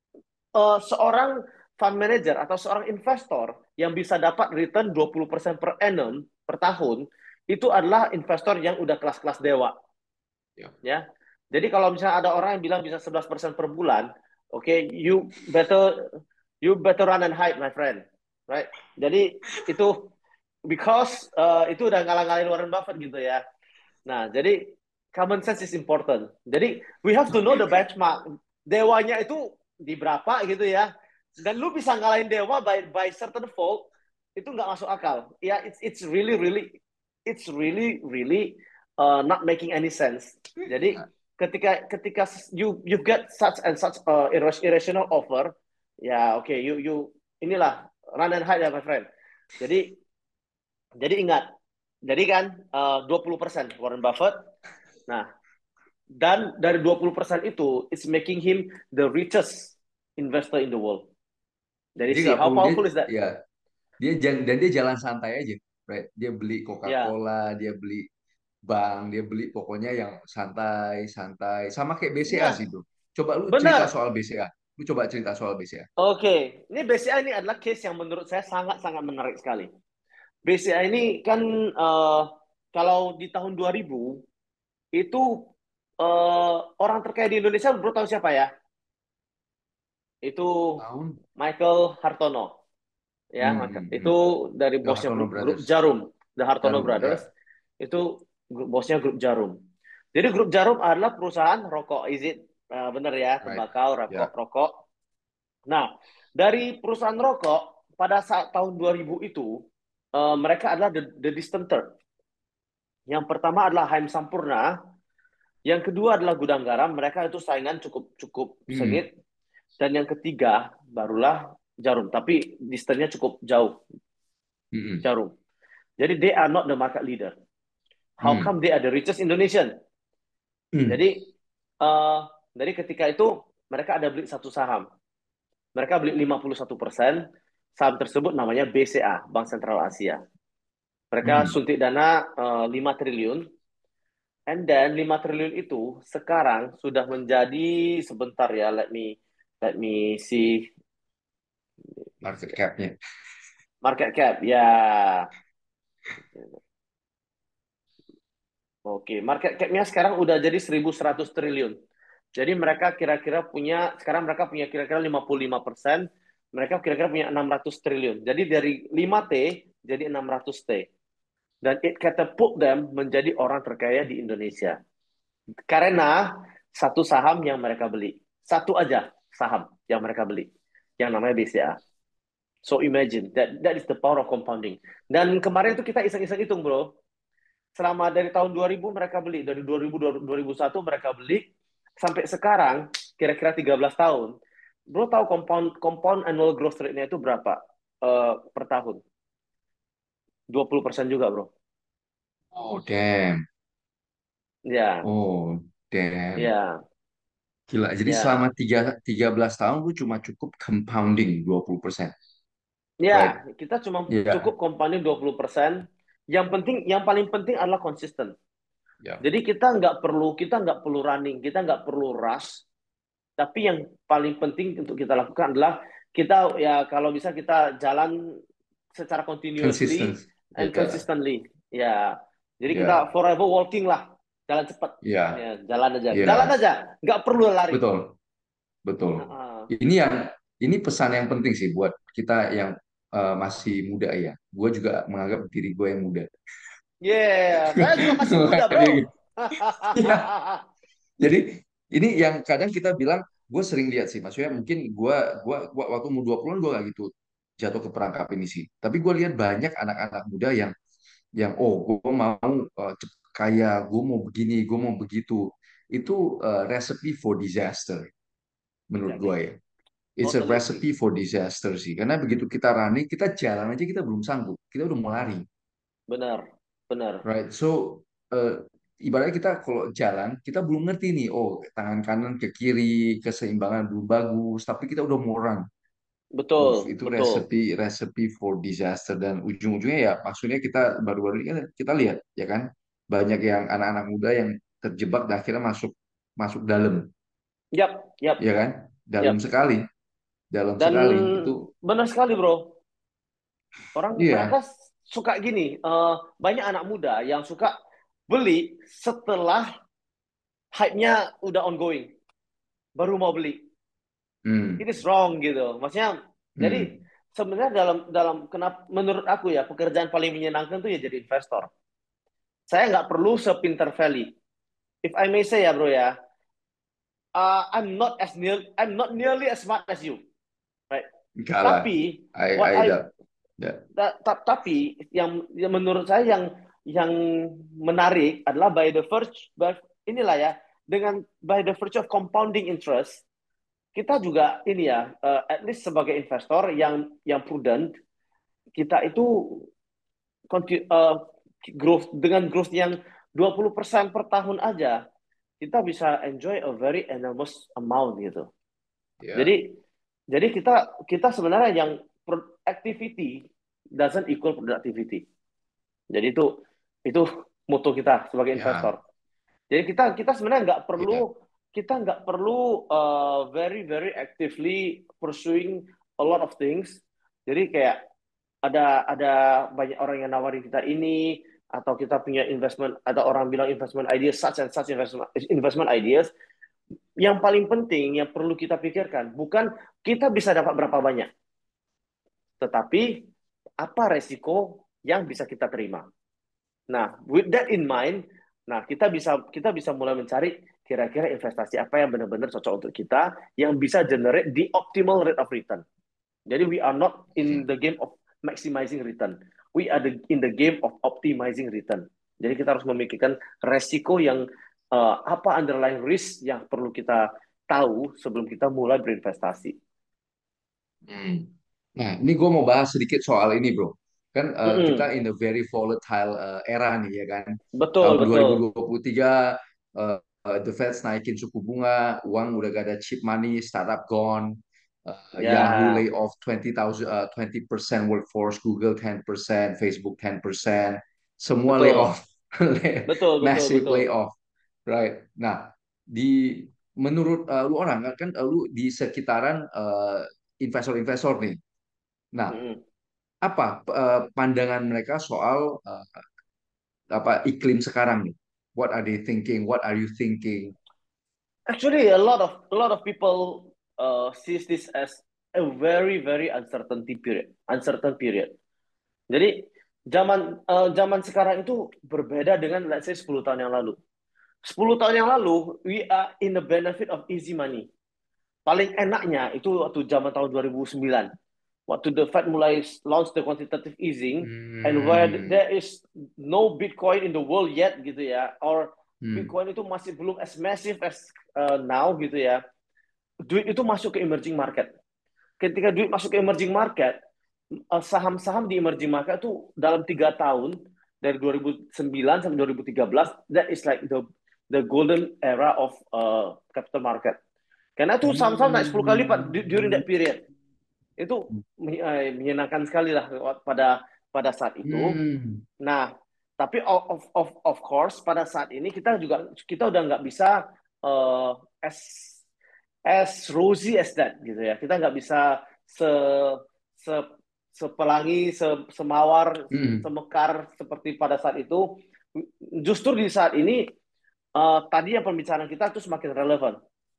seorang fund manager atau seorang investor yang bisa dapat return 20% per annum per tahun itu adalah investor yang udah kelas-kelas dewa Ya. ya. Jadi kalau misalnya ada orang yang bilang bisa 11% per bulan, oke, okay, you better run and hide my friend. Right? Jadi itu because itu udah ngalah-ngalahin Warren Buffett gitu ya. Nah, jadi common sense is important. Jadi we have to know the benchmark. Dewanya itu di berapa gitu ya. Dan lu bisa ngalahin dewa by certain fold itu nggak masuk akal. Ya, it's really not making any sense. Jadi ketika you get such and such irrational offer, ya oke, okay, you inilah run and hide ya my friend. Jadi ingat, jadi kan 20% Warren Buffett. Nah, dan dari 20% itu, it's making him the richest investor in the world. Dari Jadi si, nggak how perlu dia, powerful is that? ya dan dia jalan santai aja. Right? Dia beli Ya, Coca-Cola, dia beli bank, dia beli pokoknya yang santai-santai. Sama kayak BCA sih ya, bro. Coba lu cerita benar. soal BCA. Lu coba cerita soal BCA. Oke, ini BCA ini adalah case yang menurut saya sangat-sangat menarik sekali. BCA ini kan kalau di tahun 2000 itu orang terkaya di Indonesia, bro tahu siapa ya? Itu Tahun? Michael Hartono. Ya, itu dari The bosnya Hartono grup Brothers. Jarum, The Hartono Jarum, Brothers. ya. Itu bosnya grup Jarum. Jadi grup Jarum adalah perusahaan rokok, is it? Benar ya, Right. tembakau, Ya. rokok. Nah, dari perusahaan rokok pada saat tahun 2000 itu mereka adalah the distant third. Yang pertama adalah Haim Sampurna, yang kedua adalah Gudang Garam, mereka itu saingan cukup cukup Hmm. sengit, dan yang ketiga barulah Jarum, tapi distance-nya cukup jauh, Hmm. Jarum. Jadi they are not the market leader. How Hmm. come they are the richest Indonesian? Hmm. Jadi uh, dari ketika itu mereka ada beli satu saham. Mereka beli 51%. Saham tersebut namanya BCA, Bank Sentral Asia. Mereka Hmm. suntik dana 5 triliun. And then 5 triliun itu sekarang sudah menjadi sebentar ya, let me see Market cap-nya. market cap. Ya. Oke, market cap-nya sekarang udah jadi 1.100 triliun. Jadi mereka kira-kira punya, sekarang mereka punya kira-kira 55%, mereka kira-kira punya 600 triliun. Jadi dari 5T jadi 600T. Dan it catapult them menjadi orang terkaya di Indonesia. Karena satu saham yang mereka beli. Satu aja saham yang mereka beli. Yang namanya BCA. So imagine that is the power of compounding. Dan kemarin itu kita iseng-iseng hitung, bro. Selama dari tahun 2000 mereka beli, dari 2000 2001 mereka beli sampai sekarang kira-kira 13 tahun. Bro tahu compound compound annual growth rate-nya itu berapa per tahun? 20% juga, bro. Oh, damn. Ya, Oh, damn. ya, Gila. Jadi selama ya. 13 tahun lu cuma cukup compounding 20%. Ya, Right? kita cuma Ya. cukup compounding 20%. Yang penting, yang paling penting adalah konsisten. Ya. Jadi kita nggak perlu running, kita nggak perlu rush. Tapi yang paling penting untuk kita lakukan adalah kita ya kalau bisa kita jalan secara Consistent. continuously and Ya. consistently. Ya, jadi kita Ya. forever walking lah, jalan cepat. Ya. Ya, jalan Ya. aja, nggak perlu lari. Betul. Betul. Heeh. Ini yang ini pesan yang penting sih buat kita yang masih muda ya. Gue juga menganggap diri gue yang muda. Yeah, saya juga masih muda, bro. Ya. Jadi ini yang kadang kita bilang, gue sering lihat sih, maksudnya mungkin gua waktu umur 20-an gue gak gitu jatuh ke perangkap ini sih. Tapi gue lihat banyak anak-anak muda yang oh gue mau kaya, gue mau begini, gue mau begitu. Itu recipe for disaster menurut gue Exactly. ya. It's a Totally agree. recipe for disaster sih. Karena begitu kita running, kita jalan aja kita belum sanggup. Kita udah mau lari. Benar, benar. Right. So, ibaratnya kita kalau jalan, kita belum ngerti nih, oh, tangan kanan ke kiri, keseimbangan belum bagus, tapi kita udah mau run. Betul, Itu betul. recipe for disaster dan ujung-ujungnya ya maksudnya kita baru-baru ini kan kita lihat ya kan banyak yang anak-anak muda yang terjebak dan akhirnya masuk masuk dalam Yap, ya yap, kan yap. dalam Dan sekali itu benar sekali, bro. Orang iya. mereka suka gini, banyak anak muda yang suka beli setelah hype-nya udah ongoing, baru mau beli. It Hmm, is wrong gitu. Maksudnya, jadi hmm, sebenarnya dalam dalam kenapa menurut aku ya pekerjaan paling menyenangkan tuh ya jadi investor. Saya nggak perlu sepinter Valley. If I may say ya bro ya, I'm not nearly as smart as you, right? enggak lah Tapi what I I that that tapi yang menurut saya yang menarik adalah inilah ya dengan by the virtue of compounding interest kita juga ini ya at least sebagai investor yang prudent kita itu growth dengan growth yang 20% per tahun aja kita bisa enjoy a very enormous amount gitu. ya Jadi jadi kita kita sebenarnya yang activity doesn't equal productivity. Jadi itu moto kita sebagai ya investor. Jadi kita sebenarnya ya nggak perlu very very actively pursuing a lot of things. Jadi kayak ada banyak orang yang nawarin kita ini atau kita punya investment ada orang bilang investment ideas such and such investment ideas yang paling penting yang perlu kita pikirkan bukan kita bisa dapat berapa banyak tetapi apa resiko yang bisa kita terima. Nah, with that in mind, nah kita bisa mulai mencari kira-kira investasi apa yang benar-benar cocok untuk kita yang bisa generate the optimal rate of return. Jadi we are not in the game of maximizing return. We are in the game of optimizing return. Jadi kita harus memikirkan resiko yang apa underlying risk yang perlu kita tahu sebelum kita mulai berinvestasi. hmm. Nah, ini gue mau bahas sedikit soal ini, bro. Kan kita Mm-mm. in a very volatile era nih, ya kan? Betul, Tahun betul. 2023, uh, the Fed naikin suku bunga, uang udah gak ada cheap money, startup gone, Yahoo lay Ya, off 20% workforce, Google 10%, Facebook 10%, semua lay betul. off, Betul, betul, massive betul. layoff, right? Nah, menurut lu orang kan lu di sekitaran investor-investor nih. Nah, Mm-mm. apa pandangan mereka soal apa iklim sekarang nih? What are they thinking? What are you thinking? Actually, a lot of people sees this as a very very uncertain period. Jadi zaman sekarang itu berbeda dengan let's say 10 tahun yang lalu. 10 tahun yang lalu we are in the benefit of easy money. Paling enaknya itu waktu zaman tahun 2009. waktu the Fed mulai launch the quantitative easing, and where Hmm. there is no Bitcoin in the world yet gitu ya, or Hmm. Bitcoin itu masih belum as massive as now gitu ya, duit itu masuk ke emerging market. Ketika duit masuk ke emerging market, saham-saham di emerging market itu dalam 3 tahun dari 2009 sampai 2013, that is like the golden era of capital market. Karena itu saham-saham naik 10 kali lipat during Hmm. that period. Itu menyenangkan sekali lah pada pada saat itu. Hmm. Nah, tapi of course pada saat ini kita udah nggak bisa uh, as as rosy as that gitu ya. Kita nggak bisa se se sepelangi, semawar, Hmm. semekar seperti pada saat itu. Justru di saat ini tadi yang pembicaraan kita itu semakin relevan.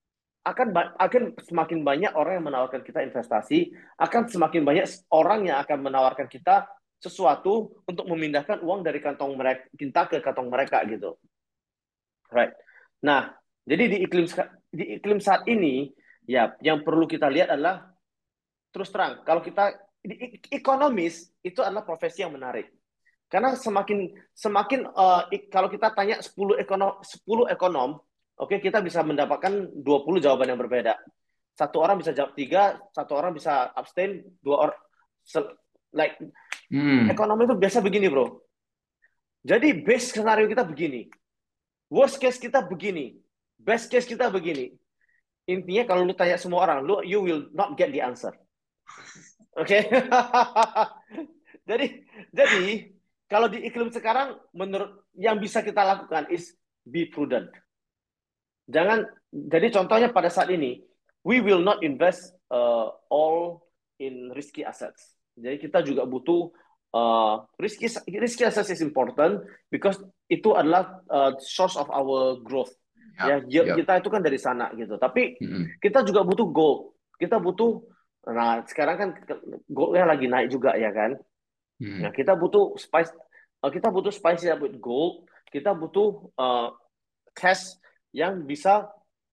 Akan semakin banyak orang yang menawarkan kita investasi, akan semakin banyak orang yang akan menawarkan kita sesuatu untuk memindahkan uang dari kantong mereka kita ke kantong mereka gitu. Right. Nah, jadi di iklim saat ini ya yang perlu kita lihat adalah terus terang kalau kita ekonomis itu adalah profesi yang menarik. Karena semakin semakin kalau kita tanya 10 ekonom, oke kita bisa mendapatkan 20 jawaban yang berbeda. Satu orang bisa jawab tiga, satu orang bisa abstain, dua orang like Hmm. ekonomi itu biasa begini, bro. Jadi base skenario kita begini, worst case kita begini, best case kita begini. Intinya kalau lu tanya semua orang, you will not get the answer. Oke. Okay? jadi jadi kalau di iklim sekarang menurut yang bisa kita lakukan is be prudent. Jangan jadi contohnya pada saat ini we will not invest all in risky assets. Jadi kita juga butuh risky assets is important because itu adalah source of our growth. Ya, Yap. yield Yap. kita itu kan dari sana gitu. Tapi Hmm. kita juga butuh gold. Kita butuh nah sekarang kan goldnya lagi naik juga ya kan. Nah, Hmm. kita butuh spice with gold. Kita butuh cash yang bisa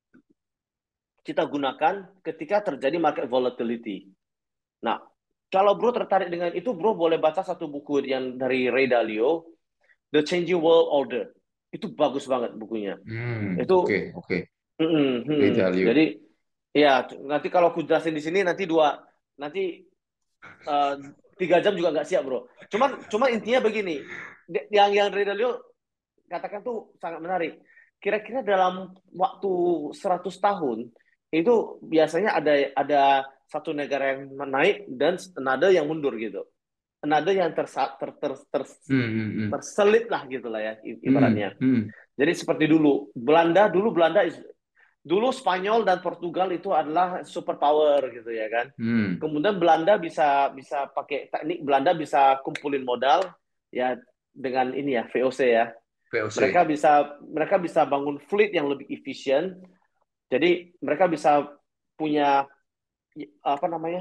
kita gunakan ketika terjadi market volatility. Nah, kalau bro tertarik dengan itu, bro boleh baca satu buku yang dari Ray Dalio, The Changing World Order. Itu bagus banget bukunya. Hmm. Oke, Itu, oke. Value. jadi ya nanti kalau aku jelasin di sini nanti eh, 3 jam juga nggak siap bro. Cuman intinya begini, yang Ray Dalio katakan tuh sangat menarik. Kira-kira dalam waktu 100 tahun itu biasanya ada satu negara yang naik dan another yang mundur gitu. Another yang Hmm. Hmm. Hmm. terselip lah gitu lah ya Hmm. ibaratnya. Hmm. Jadi seperti dulu Belanda dulu Spanyol dan Portugal itu adalah superpower gitu ya kan. Hmm. Kemudian Belanda bisa bisa pakai teknik Belanda bisa kumpulin modal ya dengan ini ya VOC ya VOC. mereka bisa bangun fleet yang lebih efisien. Jadi mereka bisa punya apa namanya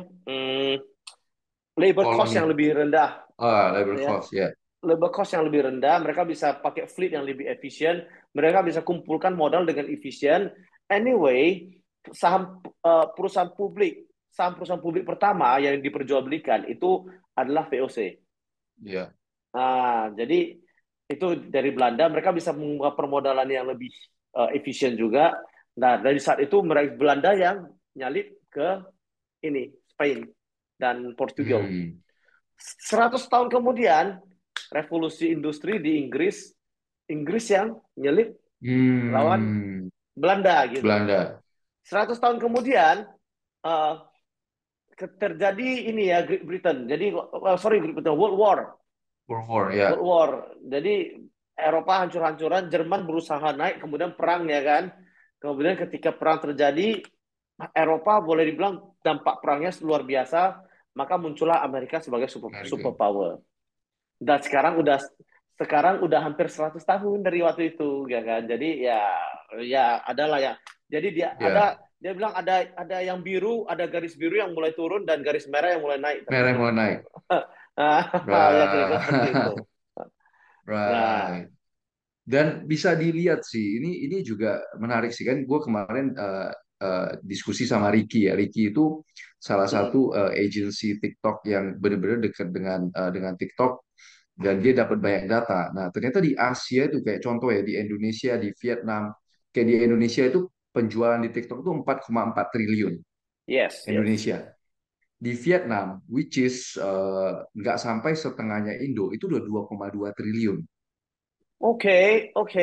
labor cost yang Koloni. lebih rendah, Labor ya. cost, ya. Labor cost yang lebih rendah. Mereka bisa pakai fleet yang lebih efisien. Mereka bisa kumpulkan modal dengan efisien. Anyway, saham perusahaan publik pertama yang diperjualbelikan itu adalah VOC. Ya. Jadi itu dari Belanda mereka bisa membuka permodalan yang lebih efisien juga. Nah, dari saat itu mereka Belanda yang nyalip ke ini Spain dan Portugal. Hmm. 100 tahun kemudian revolusi industri di Inggris, Inggris yang nyelip lawan Hmm. Belanda gitu. Belanda. 100 tahun kemudian uh, terjadi ini ya Great Britain. Jadi sorry Great Britain World War. World War, ya. World War. Jadi Eropa hancur-hancuran, Jerman berusaha naik, kemudian perang ya kan. Kemudian ketika perang terjadi, Eropa boleh dibilang dampak perangnya luar biasa, maka muncullah Amerika sebagai Amerika. superpower. Dan sekarang udah hampir 100 tahun dari waktu itu ya kan. Jadi ya adalah ya. Jadi Ya. dia bilang ada yang biru, ada garis biru yang mulai turun dan garis merah yang mulai naik Merah tertutup mulai gitu. naik. Ya kira-kira seperti itu. Right. Nah, Right. Dan bisa dilihat sih, ini juga menarik sih kan. Gue kemarin diskusi sama Ricky ya. Ricky itu salah Mm-mm. satu agency TikTok yang benar-benar dekat dengan TikTok dan dia dapat banyak data. Nah, ternyata di Asia itu kayak contoh ya di Indonesia, di Vietnam, kayak di Indonesia itu penjualan di TikTok itu 4,4 triliun Yes, yes. Indonesia. Di Vietnam, which is nggak sampai setengahnya Indo, itu udah 2,2 triliun. Oke, oke.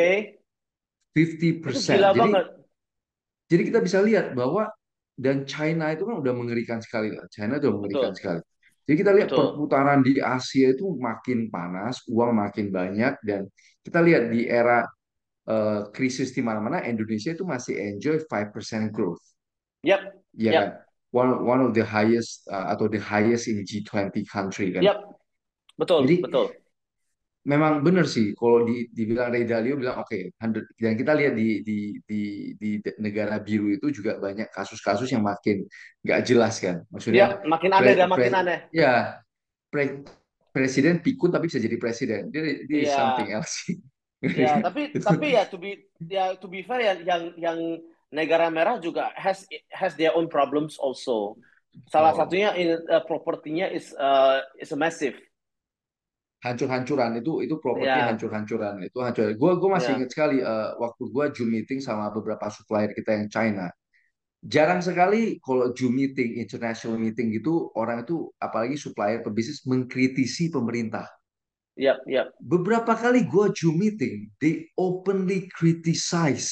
Itu 50%. gila Jadi banget. jadi kita bisa lihat bahwa dan China itu kan udah mengerikan sekali lah. China itu udah mengerikan Betul, sekali. Jadi kita lihat betul. perputaran di Asia itu makin panas, uang makin banyak dan kita lihat di era krisis di mana-mana Indonesia itu masih enjoy 5% growth, Yap, ya kan? yap, One of the highest atau the highest in G20 country kan. yap. Betul, Jadi betul. memang benar sih kalau dibilang Ray Dalio bilang oke, 100 dan kita lihat di negara biru itu juga banyak kasus-kasus yang makin nggak jelas kan. Yap, Maksudnya makin aneh dan makin aneh. ya pre- presiden pikun tapi bisa jadi presiden. Dia is something Iya, else sih. ya. Tapi Itu tapi ya to be fair yang negara merah juga has their own problems also. Salah oh, satunya propertinya is a massive. hancur-hancuran itu properti Ya, hancur-hancuran itu hancur. Gue masih ya, ingat sekali waktu gue Zoom meeting sama beberapa supplier kita yang China. Jarang sekali kalau Zoom meeting, international meeting gitu, orang itu apalagi supplier pebisnis mengkritisi pemerintah. yap, yap. Beberapa kali gue Zoom meeting, they openly criticize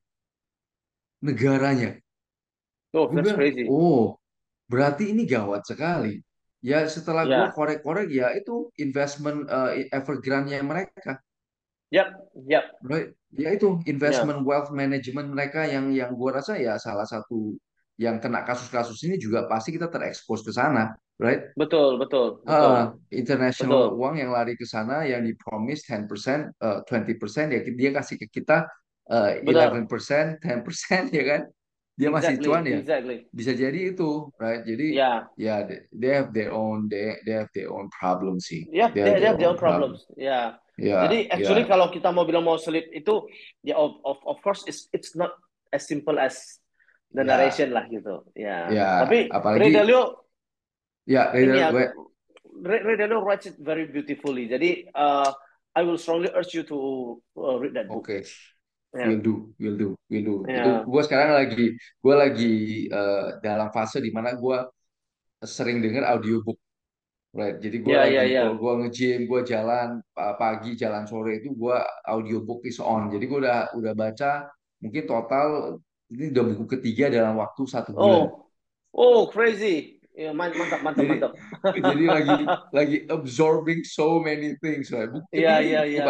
negaranya. Oh, Gue that's bilang, crazy. oh, berarti ini gawat sekali. Ya setelah gue Ya, korek-korek, ya itu investment Evergrande-nya mereka. yap, yap. Right. Ya itu Ya, investment wealth management mereka yang gua rasa ya salah satu yang kena kasus-kasus ini juga pasti kita terekspos ke sana, right? betul, betul, betul, International betul, uang yang lari ke sana yang dipromise 10%, 20% ya dia kasih ke kita benar. 11%, 10% ya kan? Dia masih cuan Exactly, ya. exactly. Bisa jadi itu, right? Jadi Ya, ya they have their own they have their own problem sih. ya, They have they their have their own own problem. problems. Ya. Ya, Jadi actually ya, kalau kita mau bilang mau sleep itu ya of course it's not as simple as the ya, narration lah gitu. Ya. ya. Tapi Ray Apalagi Dalio ya, ini ya Ray Dalio writes it very beautifully. Jadi I will strongly urge you to read that book. oke, Ya. will do, will do. Itu Ya. gue lagi dalam fase di mana gue sering dengar audiobook, right? Jadi gue Ya, ya, lagi kalau ya. gue nge-gym, gue jalan pagi, jalan sore itu gue audiobook is on. Jadi gue udah baca mungkin total ini udah buku ketiga dalam waktu 1 bulan. Oh, oh crazy. Ya, mantap, mantap, Jadi mantap. jadi lagi absorbing so many things. Right? Buku Iya, ketiga ini iya, buku iya. keempat,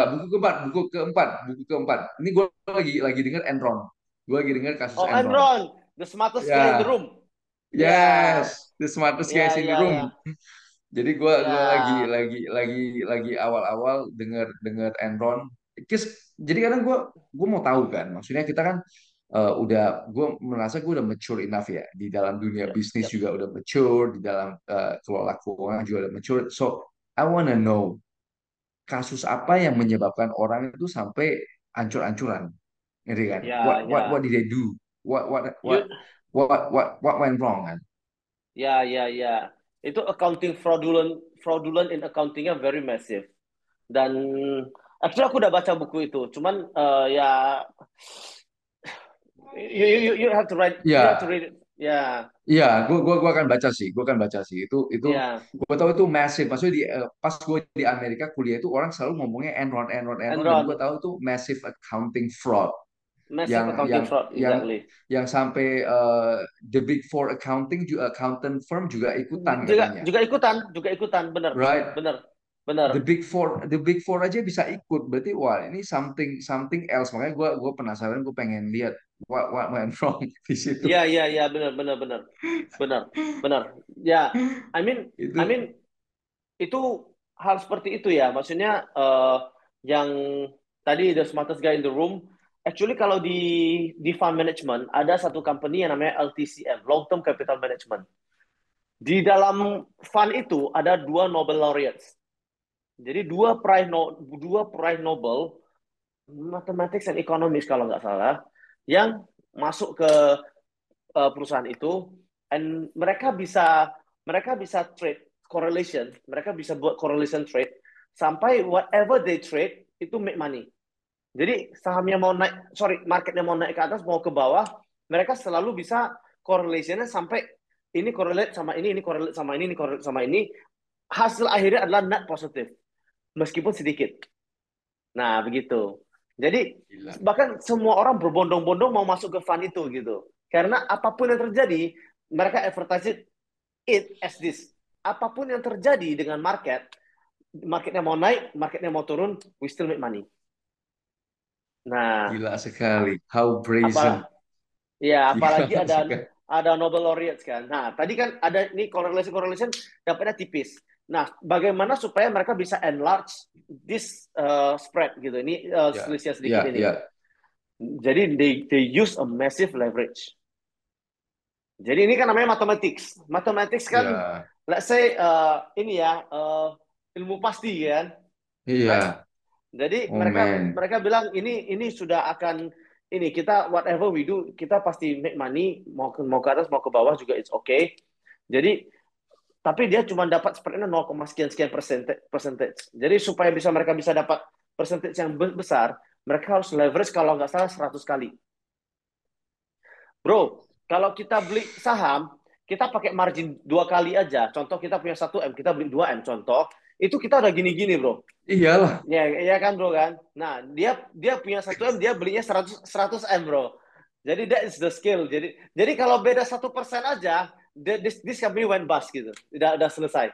buku keempat. Ini gue lagi dengar Enron. Gue lagi dengar kasus Oh, Enron. Enron, the smartest guy in the Ya, room. Ya, yes, the smartest guys ya, in the ya, room. ya, Jadi gua ya. lagi awal-awal dengar dengar Enron. Jadi kadang gua mau tahu kan, maksudnya kita kan gue merasa gue udah mature enough ya di dalam dunia Yep, bisnis yep. juga udah mature, di dalam kelola keuangan juga udah mature. So I wanna know kasus apa yang menyebabkan orang itu sampai ancur-ancuran, gitu kan? Ya, What ya. did they do? What what what You, what went wrong kan? ya, ya, ya. Itu accounting fraudulent in accountingnya very massive. Dan actually aku udah baca buku itu. Cuman ya you have to you have to Ya, read it. Ya, iya, gua akan baca sih, gua akan baca sih. Itu ya. gua tahu itu massive. Maksudnya pas gue di Amerika kuliah itu orang selalu ngomongnya Enron, Enron, Enron, dan gua Enron, tahu itu massive accounting fraud massive yang accounting fraud, exactly. sampai the big four accounting juga accountant firm juga ikutan Juga katanya, juga ikutan, bener, right? bener, bener. The big four aja bisa ikut. Berarti wah ini something something else. Makanya gua penasaran, gue pengen lihat what went wrong di situ. Iya, iya, iya, bener, bener, bener, bener, bener. Ya, I mean, I Itu mean itu hal seperti itu ya. Maksudnya yang tadi the smartest guy in the room. Actually kalau di fund management ada satu company yang namanya LTCM, Long Term Capital Management. Di dalam fund itu ada dua Nobel laureates. Jadi dua prize Nobel Mathematics and Economics kalau nggak salah yang masuk ke perusahaan itu. and mereka bisa trade correlation, mereka bisa buat correlation trade sampai whatever they trade itu make money. Jadi sahamnya mau naik, sorry, marketnya mau naik ke atas, mau ke bawah, mereka selalu bisa correlationnya sampai ini correlate sama ini correlate sama ini correlate sama ini. Hasil akhirnya adalah net positif, meskipun sedikit. Nah, begitu. Jadi Gila. bahkan semua orang berbondong-bondong mau masuk ke fund itu gitu. Karena apapun yang terjadi, mereka advertise it as this. Apapun yang terjadi dengan marketnya mau naik, marketnya mau turun, we still make money. Nah, Gila sekali. How brazen. apalah ya, Gila apalagi sekali. ada Nobel laureates kan. Nah, tadi kan ada ini correlation dapatnya tipis. Nah, bagaimana supaya mereka bisa enlarge this spread gitu. Ini Ya, selisih sedikit ya, ini. ya, Jadi they use a massive leverage. Jadi ini kan namanya mathematics. Mathematics kan, ya. let's say ini ya ilmu pasti kan, right? Iya. Jadi Oh mereka man. mereka bilang ini sudah akan ini kita whatever we do kita pasti make money mau ke atas mau ke bawah juga it's okay. Jadi tapi dia cuma dapat spreadnya 0, sekian sekian percentage. Jadi supaya mereka bisa dapat percentage yang besar, mereka harus leverage kalau nggak salah 100 kali. Bro, kalau kita beli saham, kita pakai margin 2 kali aja. Contoh kita punya 1 M, kita beli 2 M. Contoh, itu kita udah gini-gini, bro. Iyalah. Ya, ya kan, bro kan. Nah, dia punya 1 M, dia belinya 100 M, bro. Jadi that is the skill. Jadi kalau beda 1% aja, this company went bust gitu. Udah selesai.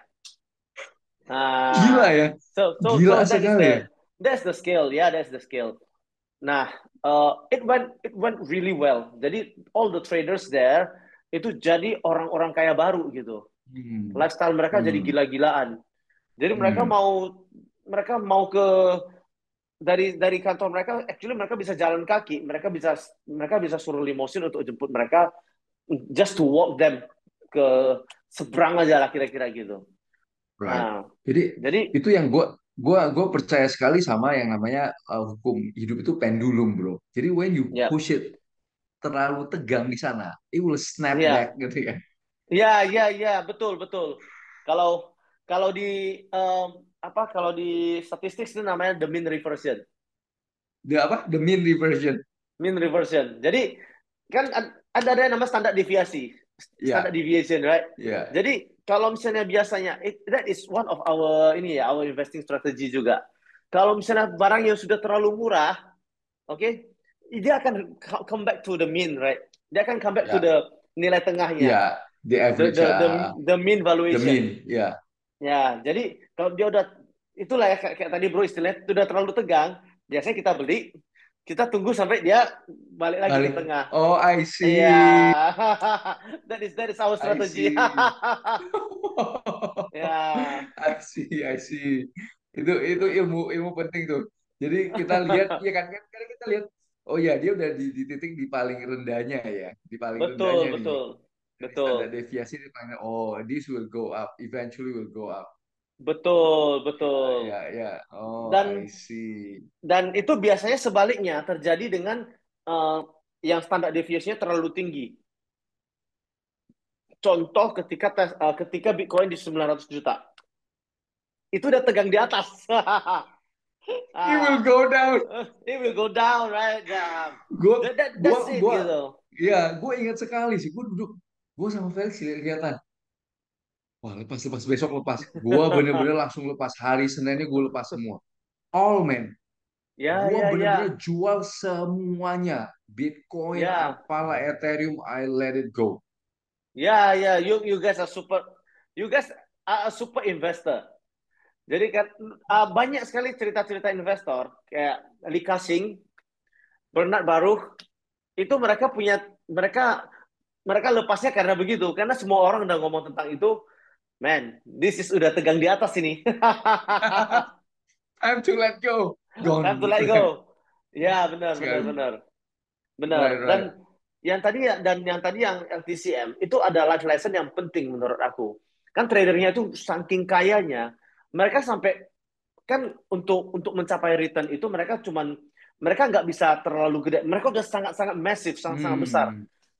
Gila Nah, ya. so Gila that is sekali ya. that's the skill. Yeah, that's the skill. Nah, it went really well. Jadi all the traders there itu jadi orang-orang kaya baru gitu. Hmm. Lifestyle mereka jadi Hmm. gila-gilaan. Jadi Hmm. mereka mau ke dari kantor mereka, actually mereka bisa jalan kaki, mereka bisa suruh limosin untuk jemput mereka, just to walk them ke seberang aja lah kira-kira gitu. Right. Nah, Jadi jadi itu yang gua percaya sekali sama yang namanya hukum hidup itu pendulum, bro. Jadi when you ya, push it terlalu tegang di sana, it will snap back ya, gitu ya. ya, ya, ya, betul, betul. Kalau kalau di em, kalau di statistik itu namanya the mean reversion. The apa? The mean reversion. Mean reversion. Jadi kan ada yang namanya standar deviasi, standar Ya, deviation, right? ya, Jadi kalau misalnya biasanya that is one of our ini ya, our investing strategy juga. Kalau misalnya barang yang sudah terlalu murah, oke, okay, dia akan come back to the mean, right? Dia akan come back to ya, the nilai tengahnya, ya. The the average, the the, the mean the valuation. mean, ya. Ya, jadi kalau dia udah itulah ya kayak tadi bro istilahnya itu udah terlalu tegang, biasanya kita beli, kita tunggu sampai dia balik lagi ke Balik. tengah. Oh, I Iya, see. that is our I strategy. see. Ya, I see, I see. Itu ilmu ilmu penting tuh. Jadi kita lihat, ya kan, kan kita lihat, oh ya dia udah di titik di paling rendahnya ya, di paling betul, rendahnya nih. betul, Jadi betul, standar deviasi di paling, oh this will go up, eventually will go up. betul, Ya, betul. ya, ya. Oh, I Dan see. itu biasanya sebaliknya terjadi dengan eh, yang standar deviasinya terlalu tinggi. Contoh ketika Bitcoin di 900 juta. Itu udah tegang di atas. It will ah, go down. it will go down, right? Nah, Gue, that's it gue, gitu. ya, gue ingat sekali sih. Gue duduk, gue sama Felix kelihatan. Wah, lepas, lepas, besok lepas. Gua bener-bener langsung lepas. Hari Seninnya gue lepas semua. All, man. Ya, Gua ya, bener-bener ya, jual semuanya. Bitcoin, ya, apalah, Ethereum, I let it go. ya, ya. You guys are a super investor. Jadi kan banyak sekali cerita-cerita investor kayak Lee Ka-shing, Bernard Baruch, itu mereka mereka lepasnya karena begitu, karena semua orang udah ngomong tentang itu. Man, this is udah tegang di atas ini. Time to let go. Time Gone to gitu let ya. go. Ya, benar, benar, Sekali. benar. Benar. Right, Dan right. yang LTCM itu ada life lesson yang penting menurut aku. Kan tradernya itu saking kayanya, mereka sampai kan untuk mencapai return itu mereka nggak bisa terlalu gede. Mereka udah sangat-sangat massive, sangat-sangat besar. Hmm.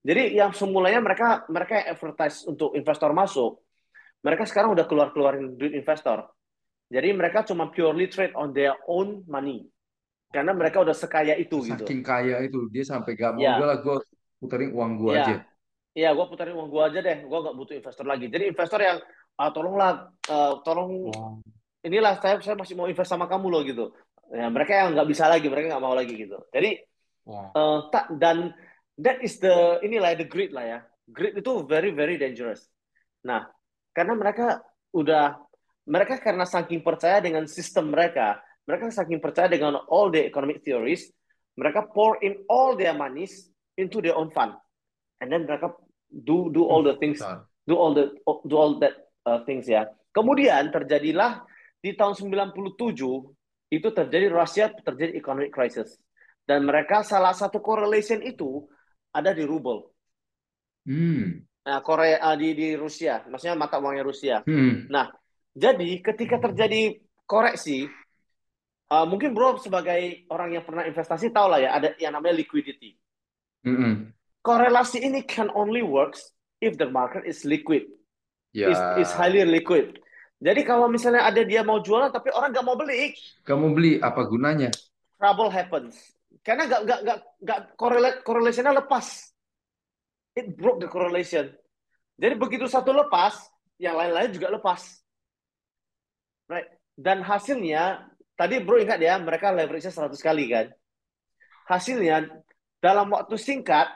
Jadi yang semulanya mereka mereka yang advertise untuk investor masuk, mereka sekarang udah keluarin duit investor. Jadi mereka cuma purely trade on their own money karena mereka udah sekaya itu gitu. Saking kaya itu dia sampai gak mau udahlah Ya, gue puterin uang gue ya, aja. ya, gue putarin uang gue aja deh. Gue nggak butuh investor lagi. Jadi investor yang tolonglah, tolong Wow. inilah saya masih mau invest sama kamu loh gitu. Ya, mereka yang nggak bisa lagi, mereka nggak mau lagi gitu. Jadi Wow. tak dan that is the inilah the greed lah ya. Greed itu very very dangerous. Nah, karena udah mereka karena saking percaya dengan sistem mereka, mereka saking percaya dengan all the economic theories, mereka pour in all their monies into their own fund, and then mereka do all the things, Bentar. do all that things ya. Kemudian terjadilah di tahun 97 itu terjadi Rusia terjadi economic crisis dan mereka salah satu correlation itu ada di ruble. Hmm. Nah, Korea di Rusia, maksudnya mata uangnya Rusia. Hmm. Nah, jadi ketika terjadi koreksi, mungkin bro sebagai orang yang pernah investasi tahu lah ya, ada yang namanya liquidity. Hmm. Korelasi ini can only works if the market is liquid, is Ya, highly liquid. Jadi kalau misalnya ada dia mau jualan tapi orang nggak mau beli, kamu beli apa gunanya? trouble happens. Karena nggak correlationnya lepas. It broke the correlation. Jadi begitu satu lepas, yang lain-lain juga lepas. Right. Dan hasilnya, tadi bro ingat ya, mereka leverage-nya 100 kali kan. Hasilnya, dalam waktu singkat,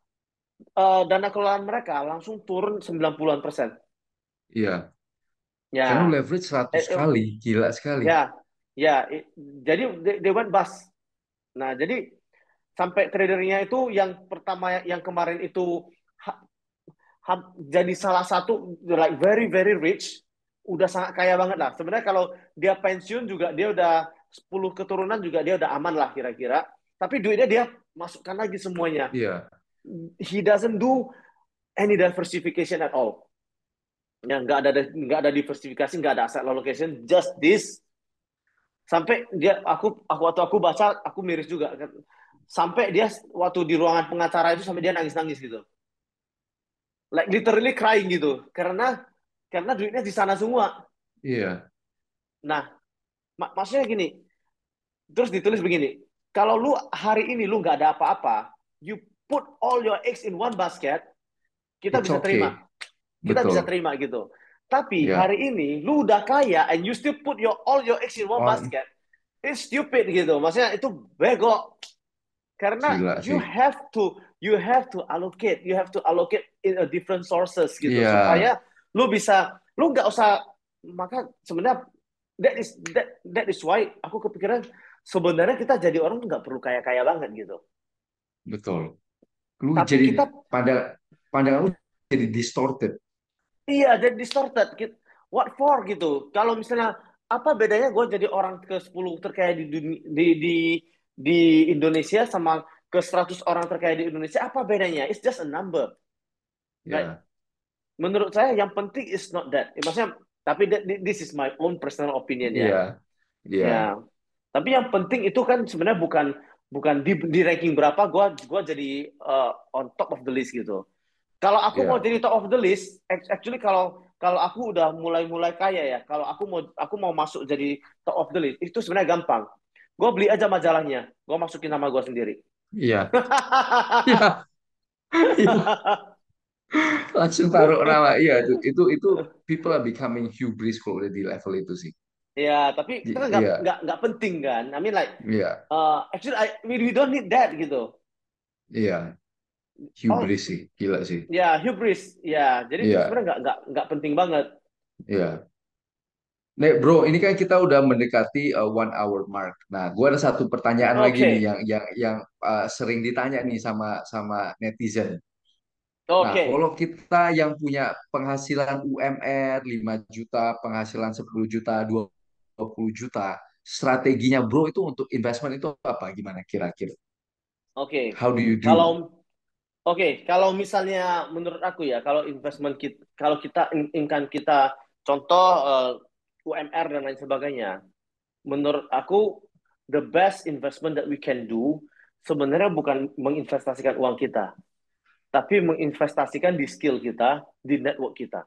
dana kelolaan mereka langsung turun 90-an%. Iya. Karena Ya, leverage 100 eh, eh, kali, gila sekali. ya, ya. Jadi they went bust. Nah, jadi sampai tradernya itu yang pertama yang kemarin itu ha- jadi salah satu like very very rich, udah sangat kaya banget lah. Sebenarnya kalau dia pensiun juga dia udah 10 keturunan juga dia udah aman lah kira-kira. Tapi duitnya dia masukkan lagi semuanya. Iya. He doesn't do any diversification at all. Ya, nggak ada diversifikasi, nggak ada asset allocation, just this. Sampai dia aku waktu aku baca aku miris juga. Sampai dia waktu di ruangan pengacara itu sampai dia nangis-nangis gitu. Like literally crying gitu. Karena duitnya di sana semua. Iya. Nah, maksudnya gini, terus ditulis begini, kalau lu hari ini lu nggak ada apa-apa, you put all your eggs in one basket, kita It's bisa terima. okay. Kita bisa Betul. terima gitu. Tapi Ya. hari ini lu udah kaya and you still put all your eggs in one Oh, basket, it's stupid gitu. Maksudnya itu bego. Karena gila sih. you have to allocate in a different sources gitu Iya. supaya lu nggak usah, maka sebenarnya that is why aku kepikiran sebenarnya kita jadi orang nggak perlu kaya-kaya banget gitu. Betul. Lu Tapi jadi kita pandangan lu jadi distorted. iya jadi distorted. What for gitu? Kalau misalnya apa bedanya gue jadi orang ke 10 terkaya di Indonesia sama ke 100 orang terkaya di Indonesia, apa bedanya? It's just a number. Right? Ya. Menurut saya yang penting is not that. Maksudnya, tapi this is my own personal opinion ya. Iya. Iya. Ya. Tapi yang penting itu kan sebenarnya bukan bukan di ranking berapa gua jadi on top of the list gitu. Kalau aku mau Iya. jadi top of the list, actually kalau kalau aku udah mulai-mulai kaya ya, kalau aku mau masuk jadi top of the list, itu sebenarnya gampang. Gue beli aja majalahnya, gue masukin nama gue sendiri. Iya. Iya. Iya. Langsung taruh nama. Iya, itu people are becoming hubris kalau udah di level itu sih. Ya, tapi itu kan Iya. nggak penting kan. I mean like, Iya. actually we don't need that gitu. Iya. Oh, Hubris sih, gila sih. ya hubris. Ya, jadi itu Iya. sebenarnya nggak penting banget. Iya. Nek, bro, ini kan kita udah mendekati 1 hour mark. Nah, gua ada satu pertanyaan lagi nih Oke, yang sering ditanya nih sama sama netizen. Nah, oke, kalau kita yang punya penghasilan UMR 5 juta, penghasilan 10 juta, 20 juta, strateginya bro itu untuk investment itu apa? Gimana kira-kira? oke. How do you do? Kalau kalau misalnya menurut aku ya, kalau investment kita, kalau kita income kita, contoh UMR dan lain sebagainya, menurut aku the best investment that we can do sebenarnya bukan menginvestasikan uang kita, tapi menginvestasikan di skill kita, di network kita.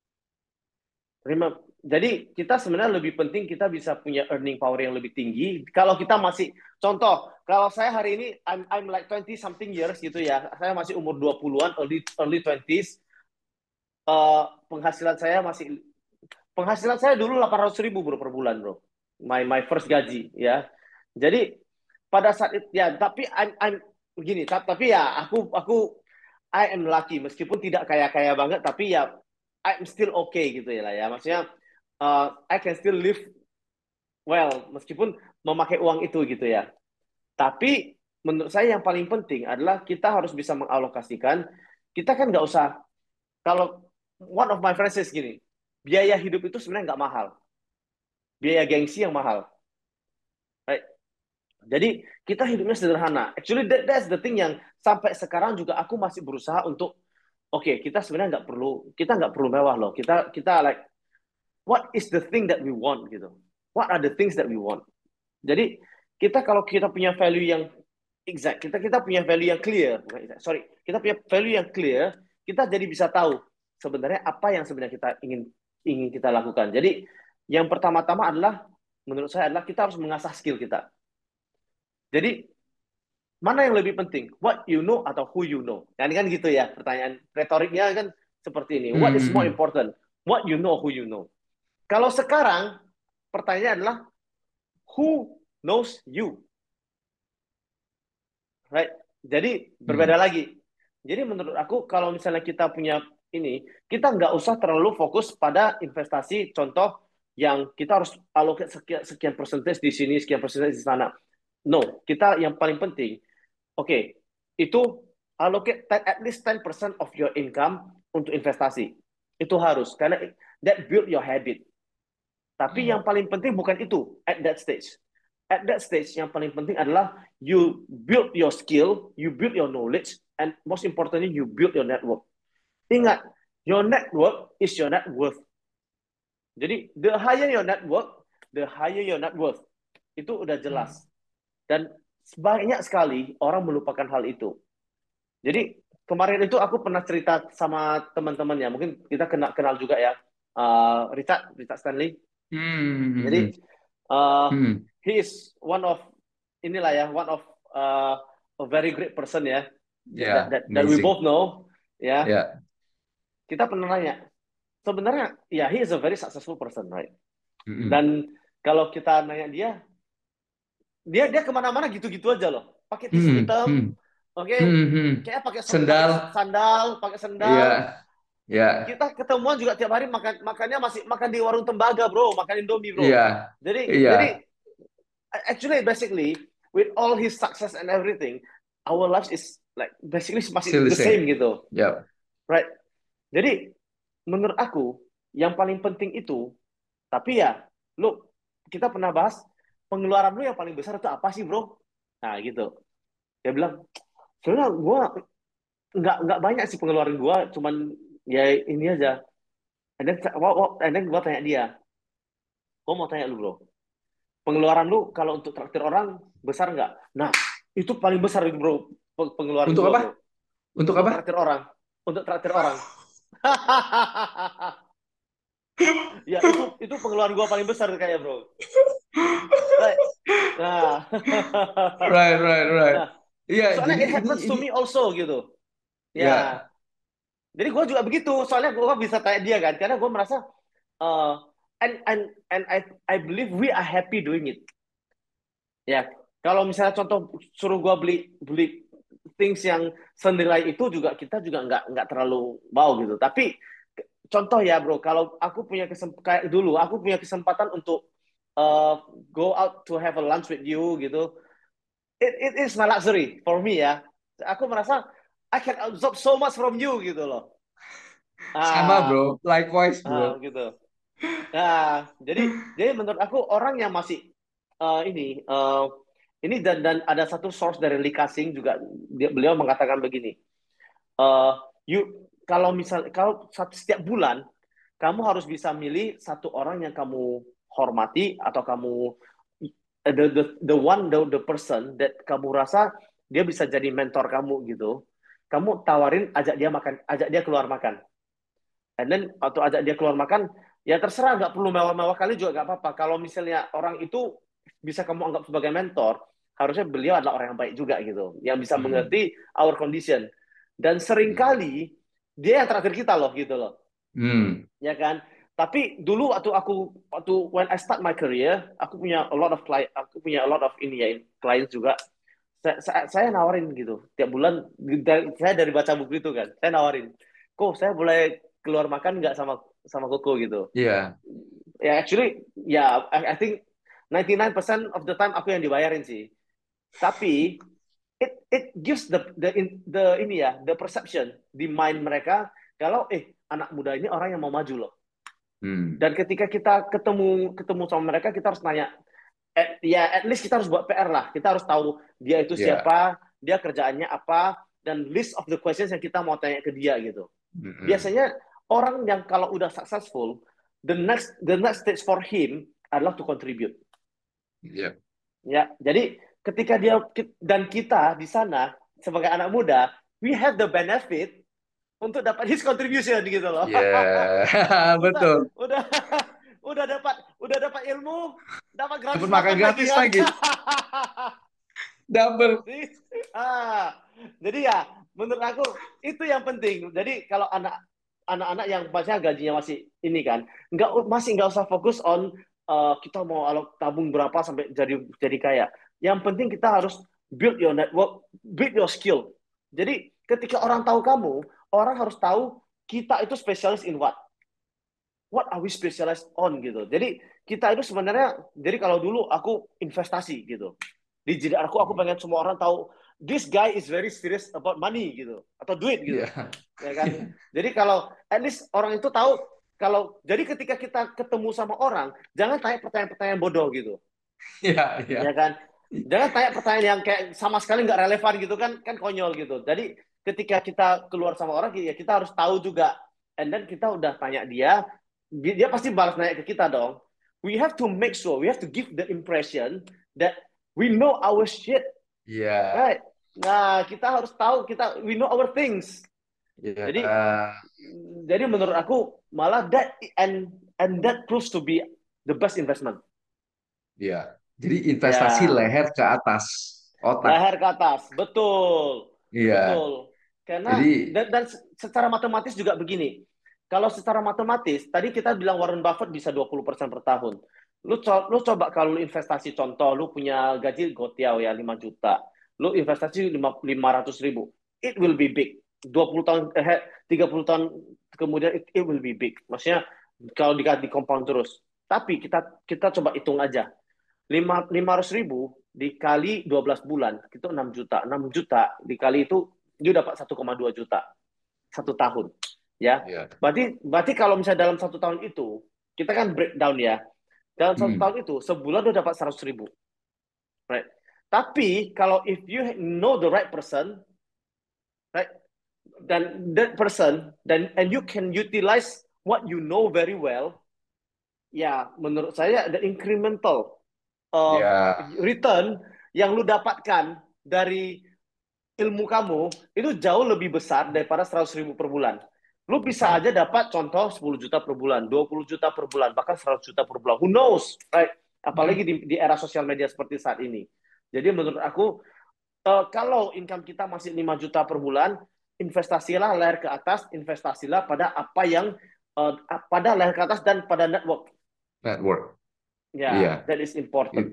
Jadi kita sebenarnya lebih penting kita bisa punya earning power yang lebih tinggi. Kalau kita masih, contoh, kalau saya hari ini I'm like 20 something years gitu ya, saya masih umur 20-an, early 20s, penghasilan saya masih, penghasilan saya dulu 800.000 bro per bulan bro, my first gaji ya. Jadi pada saat itu ya, tapi I'm begini, tapi ya aku I am lucky meskipun tidak kaya-kaya banget, tapi ya I'm still okay gitu ya lah ya. Maksudnya I can still live well meskipun memakai uang itu gitu ya. Tapi menurut saya yang paling penting adalah kita harus bisa mengalokasikan. Kita kan nggak usah, kalau one of my friends says gini, biaya hidup itu sebenarnya nggak mahal, biaya gengsi yang mahal. Right? Jadi kita hidupnya sederhana. Actually that's the thing yang sampai sekarang juga aku masih berusaha untuk, oke, kita sebenarnya nggak perlu mewah loh. Kita like, what is the thing that we want gitu. What are the things that we want. Jadi kita kalau kita punya value yang exact, kita punya value yang clear, bukan exact, sorry, kita punya value yang clear, kita jadi bisa tahu sebenarnya apa yang sebenarnya kita ingin kita lakukan. Jadi yang pertama-tama adalah, menurut saya adalah kita harus mengasah skill kita. Jadi mana yang lebih penting, what you know atau who you know? Kan gitu ya, pertanyaan retoriknya kan seperti ini. What is more Hmm. important? What you know, who you know? Kalau sekarang pertanyaannya adalah who knows you, right? Jadi berbeda Hmm. lagi. Jadi menurut aku kalau misalnya kita punya ini, kita nggak usah terlalu fokus pada investasi. Contoh yang kita harus allocate sekian persentage di sini, sekian persentage di sana. No, kita yang paling penting, oke, itu allocate at least 10% of your income untuk investasi. Itu harus, karena that build your habit. Tapi yang paling penting bukan itu at that stage. At that stage, yang paling penting adalah you build your skill, you build your knowledge, and most importantly, you build your network. Ingat, your network is your net worth. Jadi, the higher your network, the higher your net worth. Itu udah jelas. Dan banyak sekali orang melupakan hal itu. Jadi, kemarin itu aku pernah cerita sama teman-teman ya, mungkin kita kenal juga ya, Richard Stanley. Hmm. Jadi uh, Hmm. he is one of, inilah ya, one of a very great person ya, Yeah, that we amazing. both know ya. Yeah. Kita pernah nanya, sebenarnya ya he is a very successful person, right? Hmm. Dan kalau kita nanya dia kemana-mana gitu-gitu aja loh, pakai tisu Hmm. hitam, Hmm. oke, Hmm. Hmm. kayak pakai Sendal. sandal, pakai sendal. Iya. Ya. Kita ketemuan juga tiap hari makannya masih makan di warung tembaga bro, makan Indomie bro. Iya. Jadi Iya. actually basically with all his success and everything, our lives is like basically Still masih the the same same. gitu, Yep. right? Jadi menurut aku yang paling penting itu, tapi ya lu, kita pernah bahas pengeluaran lu yang paling besar itu apa sih bro? Nah gitu, dia bilang sebenarnya gue nggak banyak sih pengeluaran gue, cuman ya ini aja. And then gue tanya dia, gue mau tanya lu bro, pengeluaran lu kalau untuk traktir orang besar nggak? Nah, itu paling besar itu bro, pengeluaran Untuk gua bro, apa? Untuk untuk apa? traktir orang, untuk traktir orang. Ya itu pengeluaran gua paling besar kayak bro. Right. Nah, Right, right, right. nah, Iya, soalnya jadi it ini happens to ini me also gitu. Ya, ya. jadi gua juga begitu. Soalnya gua bisa tanya dia kan, karena gua merasa uh, and I believe we are happy doing it. Ya, kalau misalnya contoh suruh gua beli beli things yang senilai itu juga, kita juga nggak terlalu mau gitu. Tapi contoh ya bro, kalau aku punya kayak dulu aku punya kesempatan untuk uh, go out to have a lunch with you gitu, it is my luxury for me ya. Aku merasa I can absorb so much from you gitu loh. Sama, Ah, bro. Likewise, bro. gitu. Nah, jadi menurut aku orang yang masih ini dan ada satu source dari Lee Ka-sing juga, beliau mengatakan begini, uh, kalau setiap bulan kamu harus bisa milih satu orang yang kamu hormati, atau kamu the person that kamu rasa dia bisa jadi mentor kamu gitu. kamu tawarin ajak dia makan, ajak dia keluar makan. And then atau ajak dia keluar makan, ya terserah, nggak perlu mewah-mewah kali juga nggak apa-apa. Kalau misalnya orang itu bisa kamu anggap sebagai mentor, harusnya beliau adalah orang yang baik juga gitu, yang bisa Hmm. mengerti our condition. Dan Hmm. seringkali dia yang terakhir kita loh gitu loh, Hmm. ya kan? Tapi dulu waktu when I start my career, aku punya a lot of client, aku punya a lot of ini ya clients juga. Saya nawarin gitu tiap bulan, saya dari baca buku itu kan, saya nawarin, kok saya boleh keluar makan nggak sama sama Koko gitu. Iya. Ya actually ya I think 99% of the time aku yang dibayarin sih. Tapi it gives the ini ya, the perception di mind mereka kalau anak muda ini orang yang mau maju loh. Hmm. Dan ketika kita ketemu ketemu sama mereka, kita harus nanya, ya at least kita harus buat PR lah. Kita harus tahu dia itu Iya. siapa, dia kerjaannya apa, dan list of the questions yang kita mau tanya ke dia gitu. Hmm. Biasanya orang yang kalau udah successful, the next stage for him adalah to contribute. Iya. Ya, jadi ketika dia dan kita di sana sebagai anak muda, we have the benefit untuk dapat his contribution gitu loh. Iya. udah Betul. udah udah dapat ilmu, dapat Dapat gratis makan makan lagi gratis kan. lagi. Double. jadi, ah, jadi ya menurut aku itu yang penting. Jadi kalau anak-anak yang maksudnya gajinya masih ini kan, nggak usah fokus on kita mau tabung berapa sampai jadi kaya. Yang penting kita harus build your network, build your skill. Jadi ketika orang tahu kamu, orang harus tahu kita itu spesialis in what are we specialized on gitu. Jadi kita itu sebenarnya, jadi kalau dulu aku investasi gitu. Di jadi aku pengen semua orang tahu this guy is very serious about money gitu atau duit gitu. Iya. Ya kan? Jadi kalau at least orang itu tahu, kalau jadi ketika kita ketemu sama orang, jangan tanya pertanyaan-pertanyaan bodoh gitu. Iya. Iya. Ya kan? Jangan tanya pertanyaan yang kayak sama sekali nggak relevan gitu kan, kan konyol gitu. Jadi ketika kita keluar sama orang, ya kita harus tahu juga. And then kita udah tanya dia, dia pasti balas nanya ke kita dong. We have to make sure, we have to give the impression that we know our shit, Iya. right? Nah, kita harus tahu we know our things. Iya. Jadi jadi menurut aku malah and that proves to be the best investment. Iya. Jadi investasi Ya. leher ke atas otak. Leher ke atas, betul, Iya. betul. Karena Jadi dan secara matematis juga begini. Kalau secara matematis, tadi kita bilang Warren Buffett bisa 20% per tahun. Lu coba kalau lu investasi, contoh, lu punya gaji gotiau ya 5 juta. Lu investasi 500 ribu. It will be big. 20 tahun, 30 tahun kemudian it will be big. Maksudnya kalau di compound terus. Tapi kita coba hitung aja. 500 ribu dikali 12 bulan itu 6 juta. 6 juta dikali itu dia dapat 1,2 juta satu tahun, ya. ya. Berarti kalau misalnya dalam satu tahun itu kita kan breakdown ya, dalam satu Hmm. tahun itu sebulan udah dapat 100 ribu, right? Tapi kalau if you know the right person, right, dan that person, and you can utilize what you know very well, ya menurut saya the incremental Ya. return yang lu dapatkan dari ilmu kamu itu jauh lebih besar daripada 100 ribu per bulan. Lu bisa Betul. aja dapat contoh 10 juta per bulan, 20 juta per bulan, bahkan 100 juta per bulan. Who knows? Right? Apalagi Hmm. di era sosial media seperti saat ini. Jadi menurut aku, kalau income kita masih 5 juta per bulan, investasilah leher ke atas, investasilah pada apa yang pada leher ke atas dan pada network. Network. Ya, Iya. that is important. It-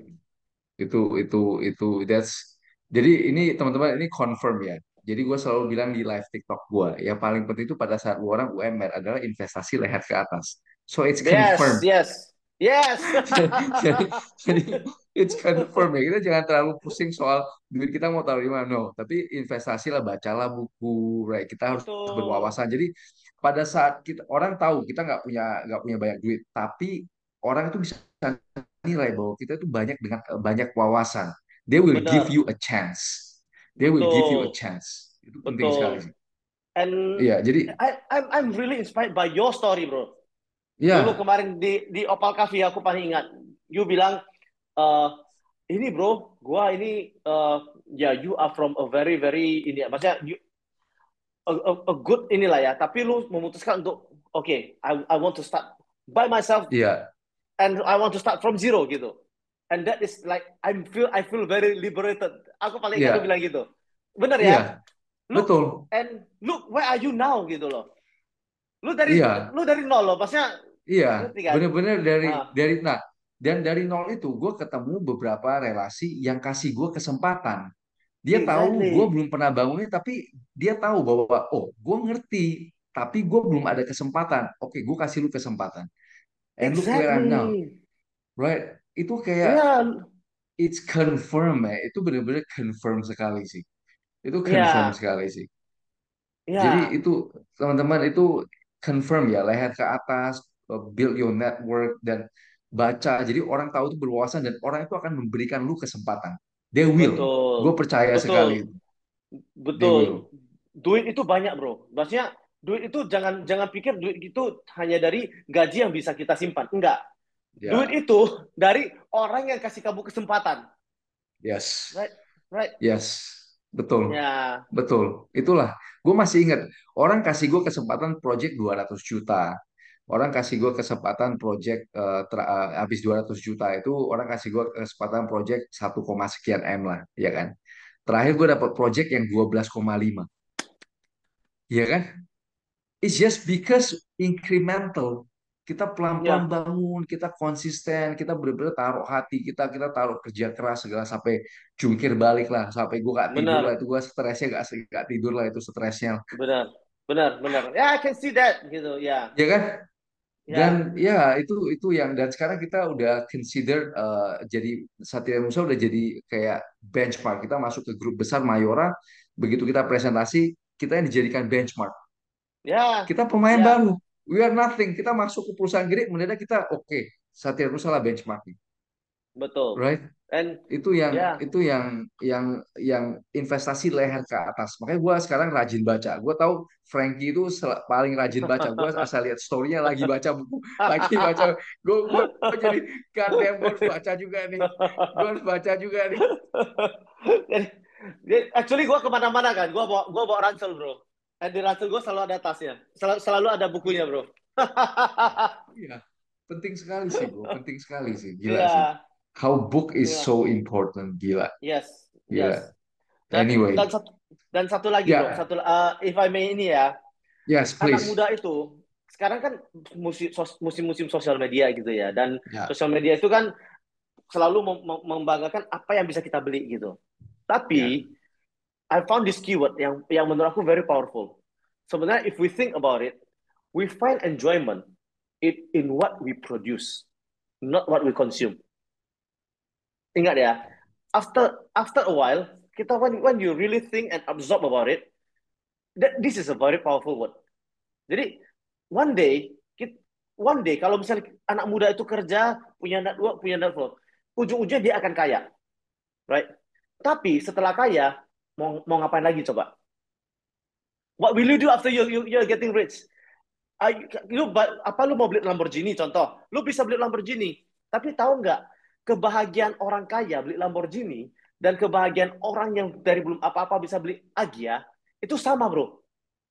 itu jadi ini teman-teman ini confirm ya. Jadi gue selalu bilang di live TikTok gue, yang paling penting itu pada saat orang UMR adalah investasi leher ke atas. So it's Yes, confirmed. yes, yes. Jadi it's confirmed ya. Kita jangan terlalu pusing soal duit kita mau taruh di mana. No, tapi investasi lah, bacalah buku, right? Kita harus Betul. berwawasan. Jadi pada saat kita orang tahu kita nggak punya banyak duit, tapi orang itu bisa nilai bahwa kita itu banyak dengan banyak wawasan. They will give Benar. you a chance. They will give you a Betul. chance. Itu penting sekali Betul. sih. And Iya, jadi I'm really inspired by your story, bro. Dulu ya kemarin di Opal Cafe aku paling ingat. You bilang, eh ini bro, gua ini ya you are from a very very ini, maksudnya a good inilah ya, tapi lu memutuskan untuk oke, I want to start by myself Iya, and I want to start from zero gitu. And that is like I feel very liberated. Aku paling enggak lu iya, bilang gitu. Bener ya? iya, Look betul. and look where are you now gitu loh. Iya, Lu dari nol loh, maksudnya iya, ngerti kan? bener-bener Ah, nah, dan dari nol itu gue ketemu beberapa relasi yang kasih gue kesempatan. Dia tahu gue exactly. belum pernah bangunnya, tapi dia tahu bahwa oh, gue ngerti, tapi gue belum ada kesempatan. Oke, gue kasih lu kesempatan. And look where I'm now, Exactly. right? Itu kayak Ya, it's confirm ya, itu bener-bener confirm sekali sih. Itu confirm ya, sekali sih. Jadi ya, itu teman-teman itu confirm ya, leher ke atas, build your network dan baca. Jadi orang tahu itu berwawasan dan orang itu akan memberikan lu kesempatan. They will. Gue betul. percaya sekali Betul. itu. They Betul. will. Duit itu banyak, Bro. Maksudnya duit itu jangan jangan pikir duit itu hanya dari gaji yang bisa kita simpan. Enggak. Duit Ya, itu dari orang yang kasih kamu kesempatan. yes. Right? Right? Yes, betul, Ya, betul. Itulah, gue masih ingat orang kasih gue kesempatan project 200 juta. Orang kasih gue kesempatan project habis 200 juta itu orang kasih gue kesempatan project 1, sekian M lah, ya kan? Terakhir gue dapat project yang 12,5, ya kan? It's just because incremental. Kita pelan-pelan ya, bangun, kita konsisten, kita benar-benar taruh hati kita, kita taruh kerja keras segala sampai jungkir balik lah, sampai gue gak tidur lah benar, itu gue stresnya gak tidur lah itu stresnya, benar, benar, benar. Ya, I can see that gitu. Ya, ya kan? Dan ya, ya itu yang dan sekarang kita udah consider jadi Satria Musa udah jadi kayak benchmark kita masuk ke grup besar Mayora begitu kita presentasi kita yang dijadikan benchmark. ya, Kita pemain ya, baru. We are nothing. Kita masuk ke perusahaan gede, mendadak kita oke. Okay, Satya Nusa lah benchmarking, betul. right? And Itu yang ya, itu yang investasi leher ke atas. Makanya gue sekarang rajin baca. Gue tahu Frankie itu paling rajin baca. Gue asal lihat storynya lagi baca buku, lagi baca. Gue jadi goddamn gue harus baca juga nih. Gue harus baca juga nih. Actually gue kemana-mana kan, gue bawa ransel bro. Dan di ransel gue selalu ada tasnya, selalu ada bukunya bro. Iya, iya. Penting sekali sih, bro. Penting sekali sih. Gila sih. Iya, How book is so iya, important. Gila, yes, gila. yes. Dan Anyway, satu lagi bro, ya, if I may ini ya, yes, anak please. muda itu sekarang kan musim-musim sosial media gitu ya, dan Ya, sosial media itu kan selalu membanggakan apa yang bisa kita beli gitu. ya, Tapi I found this keyword yang menurut aku very powerful. Sebenarnya if we think about it, we find enjoyment in what we produce, not what we consume. Ingat ya, after a while, kita when you really think and absorb about it, this is a very powerful word. Jadi one day, one day kalau misalnya anak muda itu kerja, punya network, punya network, ujung-ujungnya dia akan kaya, right? Tapi setelah kaya, mau ngapain lagi coba? What will you do after you're getting rich? Apa lu mau beli Lamborghini contoh? Lu bisa beli Lamborghini, tapi tahu nggak kebahagiaan orang kaya beli Lamborghini dan kebahagiaan orang yang dari belum apa-apa bisa beli Agya itu sama bro.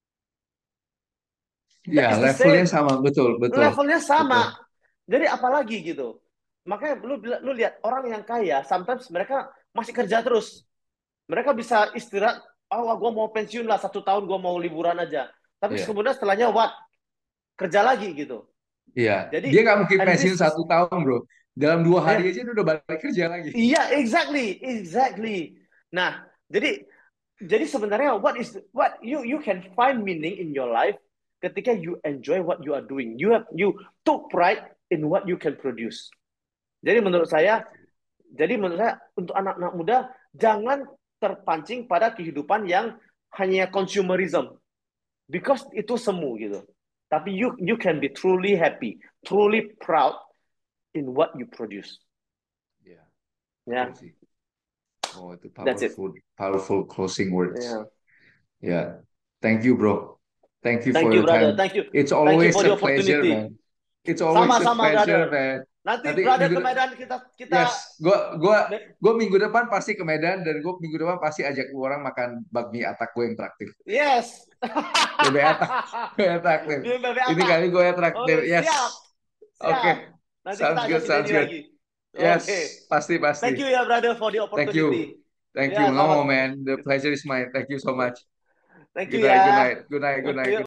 ya. That is the Levelnya same. sama, betul, betul, Levelnya betul. sama. Jadi apalagi gitu. Makanya lu lihat orang yang kaya, sometimes mereka masih kerja terus. Mereka bisa istirahat. Oh, gue mau pensiun lah 1 tahun, gue mau liburan aja. Tapi Iya, kemudian setelahnya what? Kerja lagi gitu. iya. Dia Jadi nggak mungkin and pensiun this is 1 tahun, bro. Dalam 2 hari ya aja dia udah balik kerja lagi. iya exactly exactly. Nah jadi sebenarnya what you can find meaning in your life ketika you enjoy what you are doing. You took pride in what you can produce. Jadi menurut saya untuk anak-anak muda jangan terpancing pada kehidupan yang hanya consumerism because itu semu gitu. Tapi you can be truly happy, truly proud in what you produce. Iya, betul Ya, sih. Oh, itu that's it. powerful, powerful closing words. Ya. Ya, thank you, bro. Thank you for Thank you, your time. brother. It's Thank you always for a the pleasure, man. opportunity. It's always a Sama-sama, pleasure, brother. man. Nanti Nanti brother minggu ke Medan kita kita yes, gua minggu depan pasti ke Medan dan gue minggu depan pasti ajak lu orang makan bakmi atak gue yang traktir. yes. Bebek atak, gue yang traktir. Di BB Ini Atak. kali gue yang traktir. Oke, Yes. siap. Oke. Siap. Nanti Sounds kita good, ajakin sounds Denny good. lagi. Yes, Oke. pasti pasti. Thank you ya brother for the Thank you. opportunity. Thank you. Ya, No, selamat. man. The pleasure is mine. Thank you so much. Thank you Good night, good ya. night, good night, good night. Yuk.